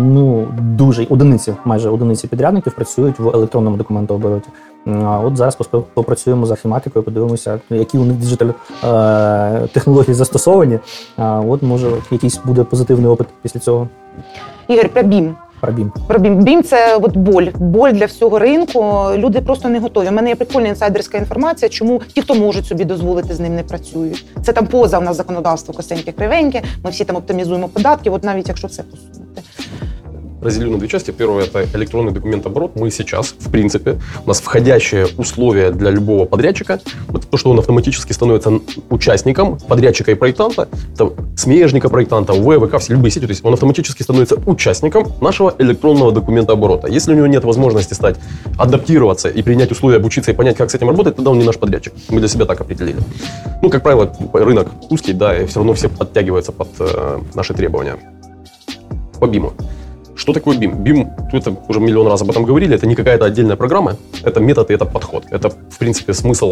E: майже одиниці підрядників працюють в електронному документообороті. От зараз попрацюємо з архіматикою, подивимося, які у них діджитал технології застосовані. От, може, якийсь буде позитивний опит після цього.
B: Ігор, про BIM. Про BIM. BIM – це боль для всього ринку. Люди просто не готові. У мене є прикольна інсайдерська інформація, чому ті, хто можуть собі дозволити, з ним не працюють. Це там поза в нас законодавство косеньке, кривеньке, ми всі там оптимізуємо податки, от навіть якщо це посунути.
D: Разделю на 2 части. Первое – это электронный документооборот. Мы сейчас, в принципе, у нас входящее условие для любого подрядчика, это то, что он автоматически становится участником подрядчика и проектанта, это смежника проектанта, ВВК, все любые сети, то есть он автоматически становится участником нашего электронного документооборота. Если у него нет возможности адаптироваться и принять условия, обучиться и понять, как с этим работать, тогда он не наш подрядчик. Мы для себя так определили. Как правило, рынок узкий, да, и все равно все подтягиваются под наши требования. По BIM. Что такое BIM? BIM, это уже миллион раз об этом говорили, это не какая-то отдельная программа, это метод и это подход. Это, в принципе, смысл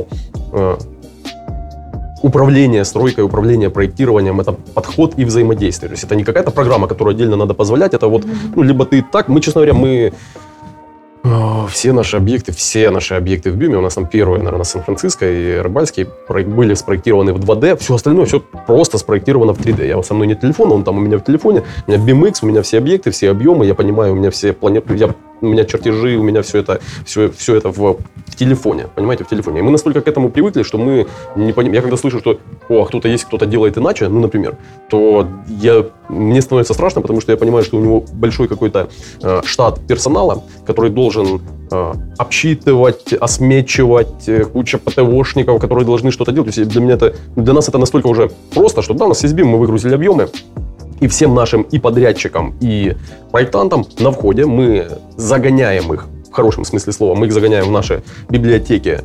D: управления стройкой, управления проектированием, это подход и взаимодействие. То есть это не какая-то программа, которую отдельно надо позволять, это либо ты так, мы, честно говоря, все наши объекты в BIM, у нас там первые, наверное, Сан-Франциско и Рыбальский были спроектированы в 2D, все остальное все просто спроектировано в 3D. Со мной нет телефона, он там у меня в телефоне, у меня BIMX, у меня все объекты, все объемы, я понимаю, у меня все планеты, у меня чертежи, у меня все это в телефоне, понимаете, в телефоне. И мы настолько к этому привыкли, что мы не понимаем. Я когда слышу, что кто-то есть, кто-то делает иначе, например, то мне становится страшно, потому что я понимаю, что у него большой какой-то штат персонала, который должен обсчитывать, осмечивать, куча ПТОшников, которые должны что-то делать. То есть для нас это настолько уже просто, что да, у нас есть BIM, мы выгрузили объемы, И всем нашим и подрядчикам, и проектантам на входе мы загоняем их, в хорошем смысле слова, мы их загоняем в наши библиотеки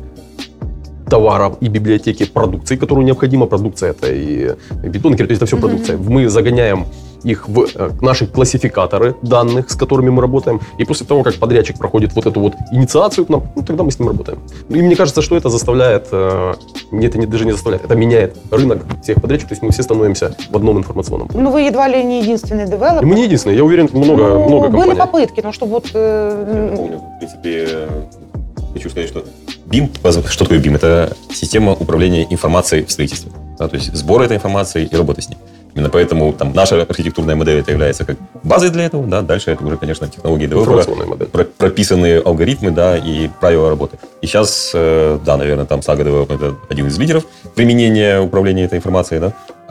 D: товаров и библиотеки продукции, которую необходима. Продукция — это и бетон, и кирпич, это все продукция. Мы загоняем их в наши классификаторы данных, с которыми мы работаем. И после того, как подрядчик проходит вот эту вот инициацию к нам, тогда мы с ним работаем. И мне кажется, что это заставляет, даже не заставляет, это меняет рынок всех подрядчиков. То есть мы все становимся в одном информационном.
B: Ну, вы едва ли не единственный девелопер.
D: И мы не единственные, я уверен, много компаний.
B: Были попытки, но чтобы вот...
C: Помню, в принципе, хочу сказать, что BIM, что такое BIM? Это система управления информацией в строительстве. Да, то есть сбор этой информации и работа с ней. Именно поэтому там, наша архитектурная модель это является как базой для этого. Да, дальше это уже, конечно, технологии девелопера, прописанные алгоритмы, да, и правила работы. И сейчас, да, наверное, там Saga Development это один из лидеров применения управления этой информацией,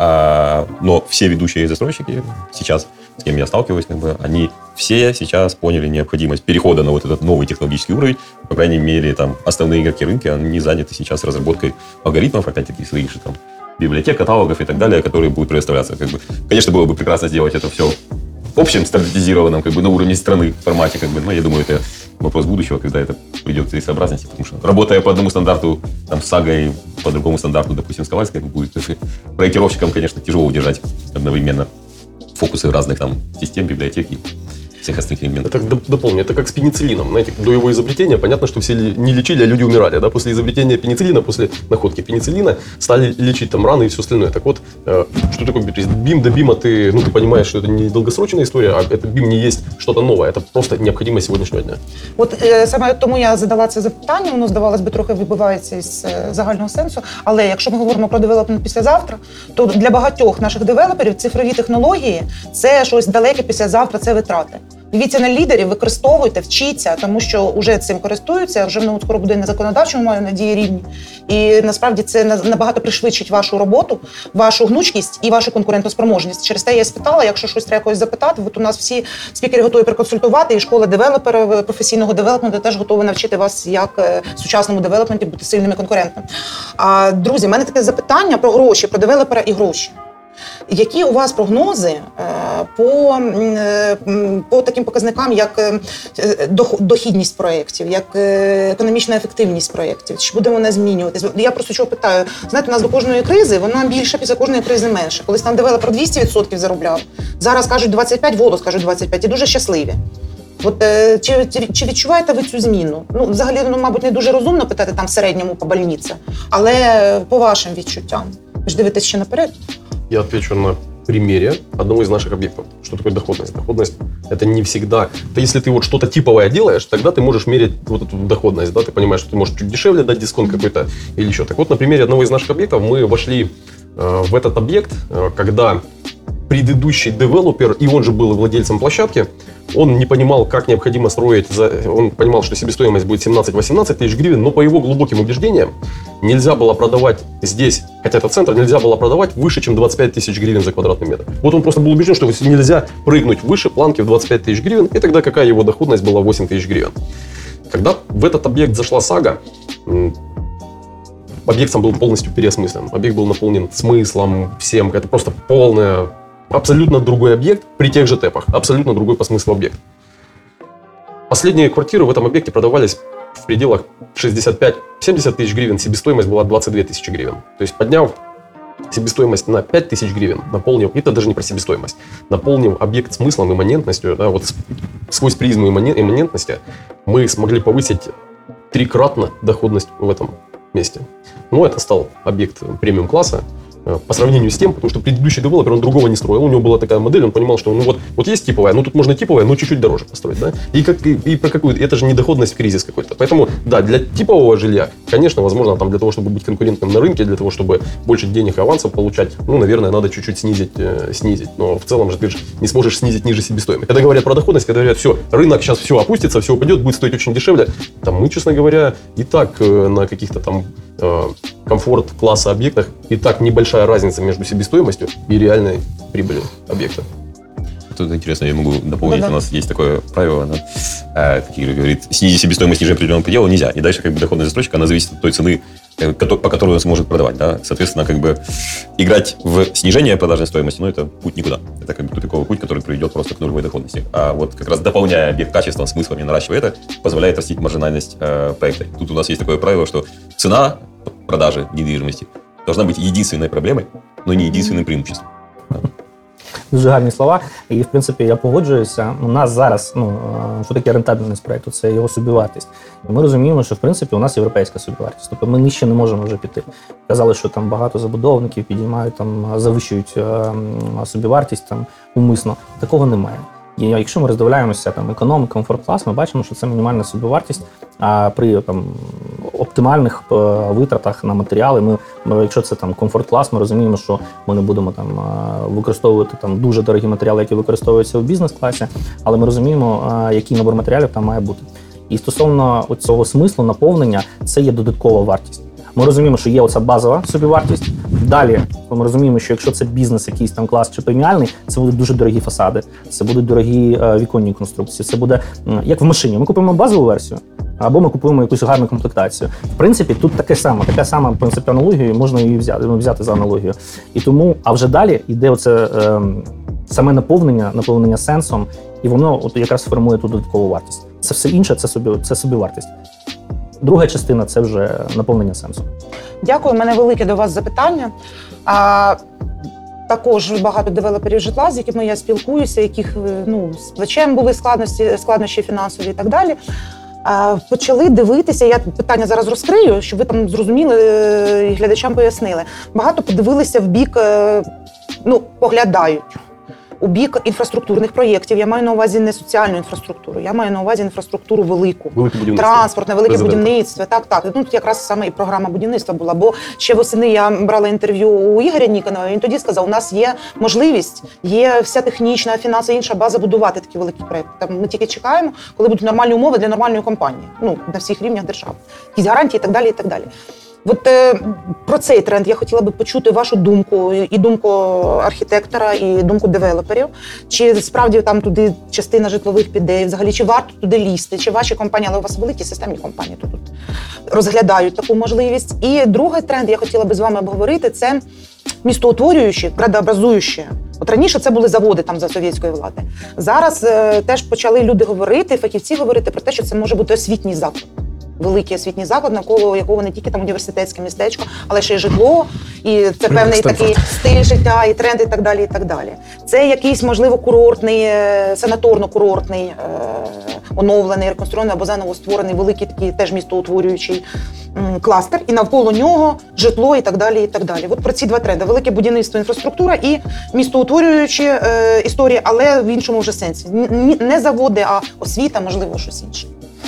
C: да. Но все ведущие застройщики сейчас, с кем я сталкиваюсь, они все сейчас поняли необходимость перехода на вот этот новый технологический уровень. По крайней мере, там основные игроки рынка, они заняты сейчас разработкой алгоритмов, опять-таки, своих же там библиотек, каталогов и так далее, которые будут предоставляться. Конечно, было бы прекрасно сделать это все в общем стандартизированном, на уровне страны формате, но я думаю, это вопрос будущего, когда это придет к целесообразности, потому что работая по одному стандарту там, с Сагой, по другому стандарту, допустим, с Ковальской, будет проектировщикам, конечно, тяжело удержать одновременно фокусы разных там систем, библиотек и всех остальных элементов.
D: Это дополню, это как с пенициллином. Знаете, до его изобретения понятно, что все не лечили, а люди умирали. Да? После изобретения пенициллина, после находки пенициллина стали лечить там раны и все остальное. Так вот, что такое BIM? До BIM ты понимаешь, что это не долгосрочная історія, а это BIM не есть что-то новое. Это просто необходимость сьогоднішнього дня.
B: От саме тому я задала це запитання, воно, здавалось би, трохи вибивається із загального сенсу. Але якщо ми говоримо про девелопмент післязавтра, то для багатьох наших девелоперів цифрові технології – це щось далеке післязавтра, це витрати. Дивіться на лідерів, використовуйте, вчіться, тому що вже цим користуються, вже воно скоро буде на законодавчому, маю надії, рівні. І насправді це набагато пришвидшить вашу роботу, вашу гнучкість і вашу конкурентоспроможність. Через те я спитала, якщо щось треба когось запитати, от у нас всі спікери готові проконсультувати, і школа девелопера, професійного девелопменту теж готова навчити вас, як в сучасному девелопменті бути сильним і конкурентним. А, друзі, в мене таке запитання про гроші, про девелопера і гроші. Які у вас прогнози по таким показникам, як дохідність проєктів, як економічна ефективність проєктів? Чи буде вона змінюватись? Я просто чого питаю. Знаєте, у нас до кожної кризи, вона більша, після кожної кризи менше. Колись там девелопер 200% заробляв, зараз кажуть 25%, голос кажуть 25% і дуже щасливі. От, чи відчуваєте ви цю зміну? Ну, взагалі, мабуть, не дуже розумно питати там в середньому по больниці, але по вашим відчуттям. Ви ж дивитесь ще наперед?
D: Я отвечу на примере одного из наших объектов. Что такое доходность? Доходность – это не всегда… Это если ты вот что-то типовое делаешь, тогда ты можешь мерить вот эту доходность. Да? Ты понимаешь, что ты можешь чуть дешевле дать дисконт какой-то или еще. Так вот, на примере одного из наших объектов мы вошли в этот объект, когда предыдущий девелопер, и он же был владельцем площадки, он не понимал, как необходимо строить, он понимал, что себестоимость будет 17-18 тысяч гривен, но по его глубоким убеждениям нельзя было продавать здесь, хотя это центр, нельзя было продавать выше, чем 25 тысяч гривен за квадратный метр. Вот он просто был убежден, что нельзя прыгнуть выше планки в 25 тысяч гривен, и тогда какая его доходность была 8 тысяч гривен. Когда в этот объект зашла Сага, объект сам был полностью переосмыслен. Объект был наполнен смыслом, всем. Это просто полное, абсолютно другой объект при тех же тэпах. Абсолютно другой по смыслу объект. Последние квартиры в этом объекте продавались в пределах 65-70 тысяч гривен. Себестоимость была 22 тысячи гривен. То есть, подняв себестоимость на 5 тысяч гривен, наполнив, это даже не про себестоимость, наполнив объект смыслом, имманентностью, да, вот сквозь призму имманентности, мы смогли повысить 3-кратно доходность в этом месте. Но это стал объект премиум-класса по сравнению с тем, потому что предыдущий девелопер, он другого не строил, у него была такая модель, он понимал, что вот есть типовая, но тут можно типовая, но чуть-чуть дороже построить, да, и про какую, это же не доходность в кризис какой-то, поэтому, да, для типового жилья, конечно, возможно, там для того, чтобы быть конкурентным на рынке, для того, чтобы больше денег и авансов получать, ну, наверное, надо чуть-чуть снизить, но в целом же ты же не сможешь снизить ниже себестоимости. Когда говорят про доходность, когда говорят, все, рынок сейчас все опустится, все упадет, будет стоить очень дешевле, там мы, честно говоря, и так на каких-то там комфорт-класса объектах и так небольшая разница между себестоимостью и реальной прибылью объекта.
C: Тут интересно, я могу дополнить, у нас есть такое правило, какие говорит, снизить себестоимость ниже определенного предела нельзя. И дальше доходность застройщика, она зависит от той цены, по которой он сможет продавать. Да? Соответственно, как бы играть в снижение продажной стоимости, это путь никуда. Это как бы тупиковый путь, который приведет просто к нулевой доходности. А вот как раз дополняя объект качеством, смыслом и наращивая это, позволяет растить маржинальность проекта. Тут у нас есть такое правило, что цена продажи недвижимости должна быть единственной проблемой, но не единственным преимуществом.
E: Дуже гарні слова. І, в принципі, я погоджуюся. У нас зараз, що таке рентабельність проєкту? Це його собівартість. І ми розуміємо, що, в принципі, у нас європейська собівартість. Тобто ми нижче не можемо вже піти. Казали, що там багато забудовників підіймають, завищують собівартість умисно. Такого немає. І якщо ми роздивляємося економ, комфорт-клас, ми бачимо, що це мінімальна собівартість, а при оптимальних витратах на матеріали, якщо це комфорт-клас, ми розуміємо, що ми не будемо використовувати дуже дорогі матеріали, які використовуються в бізнес-класі, але ми розуміємо, який набор матеріалів там має бути. І стосовно цього смислу, наповнення, це є додаткова вартість. Ми розуміємо, що є оця базова собівартість. Далі ми розуміємо, що якщо це бізнес, якийсь клас чи преміальний, це будуть дуже дорогі фасади, це будуть дорогі віконні конструкції, це буде як в машині. Ми купуємо базову версію, або ми купуємо якусь гарну комплектацію. В принципі, тут така сама в принципі, аналогія, можна її взяти за аналогію. І тому, а вже далі йде оце саме наповнення сенсом, і воно якраз формує ту додаткову вартість. Це все інше, це собівартість. Друга частина – це вже наповнення сенсу.
B: Дякую. У мене велике до вас запитання. Також багато девелоперів житла, з якими я спілкуюся, яких з плечем були складнощі фінансові і так далі. Почали дивитися, я питання зараз розкрию, щоб ви там зрозуміли і глядачам пояснили. Багато подивилися в бік, поглядають у бік інфраструктурних проєктів. Я маю на увазі не соціальну інфраструктуру, я маю на увазі інфраструктуру велику. Транспортне, велике будівництво. Так. Тут якраз саме і програма будівництва була. Бо ще восени я брала інтерв'ю у Ігоря Ніконова, він тоді сказав, у нас є можливість, є вся технічна, фінансова, інша база будувати такі великі проєкти. Ми тільки чекаємо, коли будуть нормальні умови для нормальної компанії. На всіх рівнях держави. Якісь гарантії і так далі, і так далі. От про цей тренд я хотіла би почути вашу думку, і думку архітектора, і думку девелоперів. Чи справді там туди частина житлових піде, взагалі, чи варто туди лізти, чи ваші компанії, але у вас великі системні компанії тут розглядають таку можливість. І другий тренд я хотіла би з вами обговорити – це містоутворюючі, градообразуючі. От раніше це були заводи за совєтської влади. Зараз теж почали люди говорити, фахівці говорити про те, що це може бути освітній заклад. Великий освітній заклад, навколо якого не тільки університетське містечко, але ще й житло, і це певний такий стиль життя, і тренд, і так далі, і так далі. Це якийсь, можливо, курортний, санаторно-курортний, оновлений, реконструйований або заново створений великий такий теж містоутворюючий кластер, і навколо нього житло, і так далі, і так далі. От про ці два тренди. Велике будівництво, інфраструктура і містоутворюючі історії, але в іншому вже сенсі. Не заводи, а освіта, можливо, щось інше.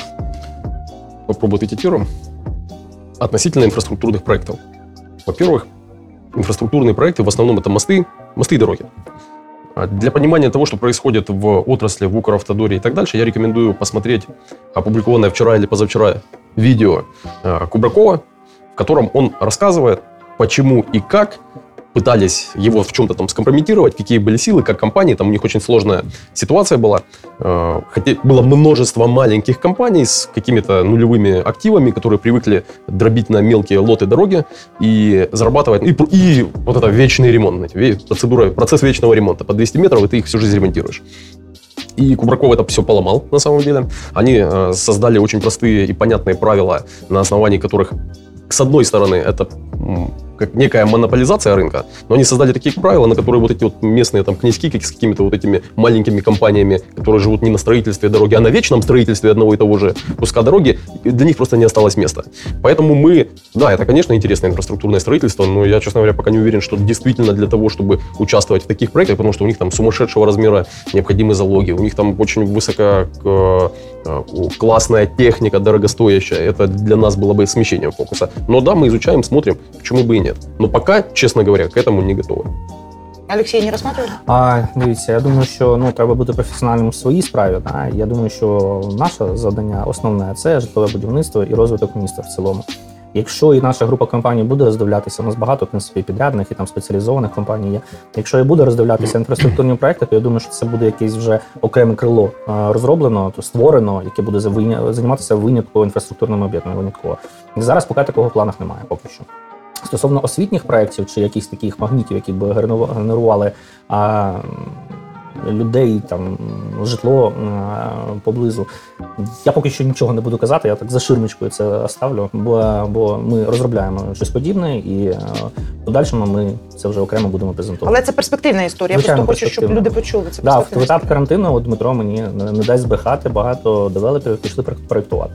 D: Попробую ответить относительно инфраструктурных проектов. Во-первых, инфраструктурные проекты в основном это мосты и дороги. Для понимания того, что происходит в отрасли, в Укравтодоре и так дальше, я рекомендую посмотреть опубликованное вчера или позавчера видео Кубракова, в котором он рассказывает, почему и как пытались его в чем-то скомпрометировать, какие были силы, как компании, у них очень сложная ситуация была. Хотя было множество маленьких компаний с какими-то нулевыми активами, которые привыкли дробить на мелкие лоты дороги и зарабатывать. И вот это вечный ремонт, процесс вечного ремонта. По 200 метров, и ты их всю жизнь ремонтируешь. И Кубраков это все поломал, на самом деле. Они создали очень простые и понятные правила, на основании которых, с одной стороны, это как некая монополизация рынка, но они создали такие правила, на которые вот эти вот местные князьки с какими-то вот этими маленькими компаниями, которые живут не на строительстве дороги, а на вечном строительстве одного и того же куска дороги, для них просто не осталось места. Поэтому это, конечно, интересное инфраструктурное строительство, но я, честно говоря, пока не уверен, что действительно для того, чтобы участвовать в таких проектах, потому что у них сумасшедшего размера необходимы залоги, у них очень высококлассная техника, дорогостоящая. Это для нас было бы смещением фокуса. Но да, мы изучаем, смотрим, почему бы и нет. Но пока, честно говоря, к этому не готовы.
B: Олексій, не розсматривали?
E: Дивіться, я думаю, що треба бути професіоналом в своїй справі. Я думаю, що наше завдання основне – це житлове будівництво і розвиток міста в цілому. Якщо і наша група компаній буде роздивлятися, у нас багато в принципі підрядних і там спеціалізованих компаній є. Якщо і буде роздивлятися інфраструктурні проекти, то я думаю, що це буде якесь вже окреме крило розроблено, то створено, яке буде займатися винятково інфраструктурними об'єктами. Винятково. Зараз поки такого в планах немає, поки що. Стосовно освітніх проєктів чи якихось таких магнітів, які б генерували людей, там, житло поблизу, я поки що нічого не буду казати, я так за ширмочкою це оставлю, бо ми розробляємо щось подібне і в подальшому ми це вже окремо будемо презентувати.
B: Але це перспективна історія,
E: Звичайно,
B: я просто хочу, щоб люди почули. Це
E: в етап карантину Дмитро мені не дасть збрехати, багато девелоперів пішли проєктувати.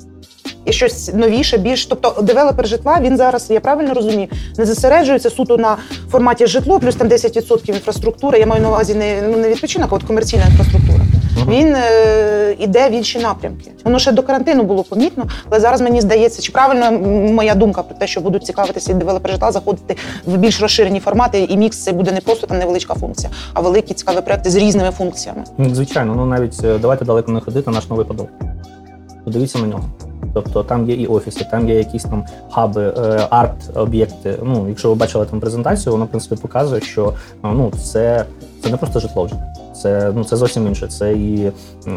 B: І щось новіше, більш, тобто девелопер житла, він зараз, я правильно розумію, не зосереджується суто на форматі житло, плюс там 10% інфраструктури, я маю на увазі не відпочинок, а от комерційна інфраструктура. Він іде в інші напрямки. Воно ще до карантину було помітно, але зараз мені здається, чи правильно моя думка про те, що будуть цікавитися і девелопери житла, заходити в більш розширені формати, і мікс це буде не просто там невеличка функція, а великі цікаві проекти з різними функціями.
E: Звичайно, навіть давайте далеко не ходити, наш новий Подол. Подивіться на нього. Тобто там є і офіси, там є якісь там хаби, арт-об'єкти. Якщо ви бачили там презентацію, воно, в принципі, показує, що це не просто житло вже. Це зовсім інше. Це і,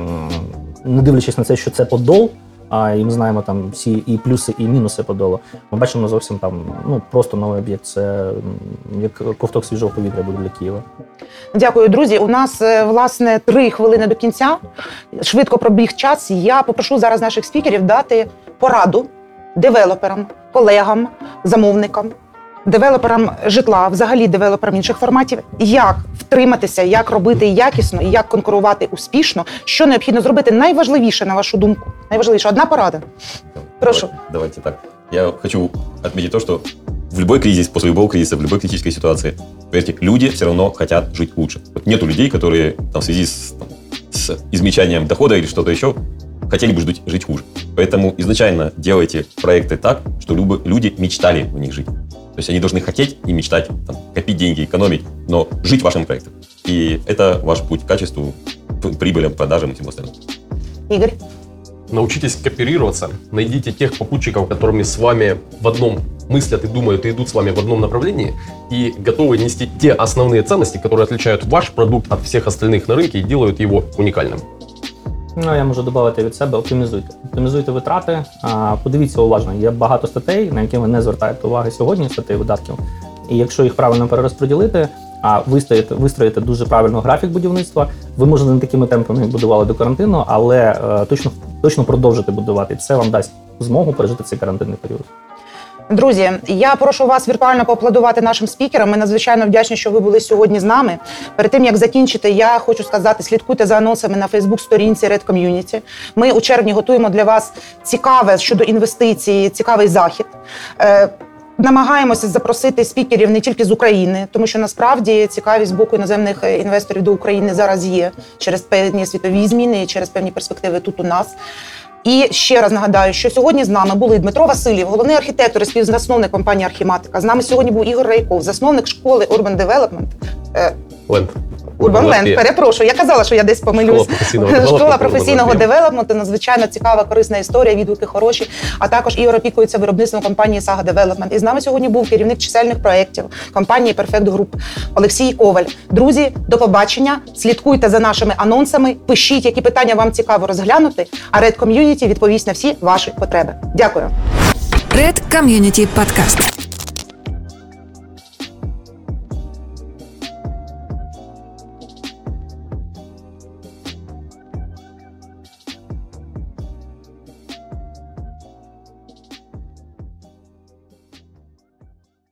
E: не дивлячись на те, що це Подол, і ми знаємо там всі і плюси, і мінуси Подолу, ми бачимо зовсім там, просто новий об'єкт. Це як ковток свіжого повітря буде для Києва.
B: Дякую, друзі. У нас, власне, 3 хвилини до кінця. Швидко пробіг час. Я попрошу зараз наших спікерів дати пораду девелоперам, колегам, замовникам, девелоперам житла, взагалі девелоперам інших форматів, як втриматися, як робити якісно і як конкурувати успішно, що необхідно зробити. Найважливіше, на вашу думку, найважливіше, одна порада. Прошу.
C: Давайте так. Я хочу отметить то, что в любой кризис, после любого кризиса, в любой критической ситуации, поверьте, люди все равно хотят жить лучше. Вот нету людей, которые в связи с измельчанием дохода или что-то еще хотели бы жить хуже. Поэтому изначально делайте проекты так, чтобы люди мечтали в них жить. То есть они должны хотеть и мечтать, копить деньги, экономить, но жить вашим проектом. И это ваш путь к качеству, прибылям, продажам и всему остальному.
B: Игорь?
D: Научитесь кооперироваться, найдите тех попутчиков, которыми с вами в одном мыслят и думают, и идут с вами в одном направлении, и готовы нести те основные ценности, которые отличают ваш продукт от всех остальных на рынке и делают его уникальным.
E: Я можу додати від себе, оптимізуйте. Оптимізуйте витрати, подивіться уважно. Є багато статей, на які ви не звертаєте уваги сьогодні, статей видатків. І якщо їх правильно перерозподілити, вистроїти дуже правильно графік будівництва, ви, може, не такими темпами, як будували до карантину, але точно продовжите будувати. Це вам дасть змогу пережити цей карантинний період.
B: Друзі, я прошу вас віртуально поаплодувати нашим спікерам. Ми надзвичайно вдячні, що ви були сьогодні з нами. Перед тим, як закінчити, я хочу сказати, слідкуйте за анонсами на Фейсбук-сторінці Red Community. Ми у червні готуємо для вас цікаве щодо інвестицій, цікавий захід. Намагаємося запросити спікерів не тільки з України, тому що насправді цікавість з боку іноземних інвесторів до України зараз є через певні світові зміни і через певні перспективи тут у нас. І ще раз нагадаю, що сьогодні з нами були Дмитро Васильєв, головний архітектор і співзасновник компанії «Архіматика». З нами сьогодні був Ігор Райков, засновник школи Urban Development. Urban Land, перепрошую, я казала, що я десь помилюсь. Школа професійного девелопменту, надзвичайно цікава, корисна історія, відгуки хороші. А також Ігор опікується виробництвом компанії Saga Development. І з нами сьогодні був керівник чисельних проєктів компанії Perfect Group Олексій Коваль. Друзі, до побачення, слідкуйте за нашими анонсами, пишіть, які питання вам цікаво розглянути, а Red Community відповість на всі ваші потреби. Дякую.
A: Red Community Podcast.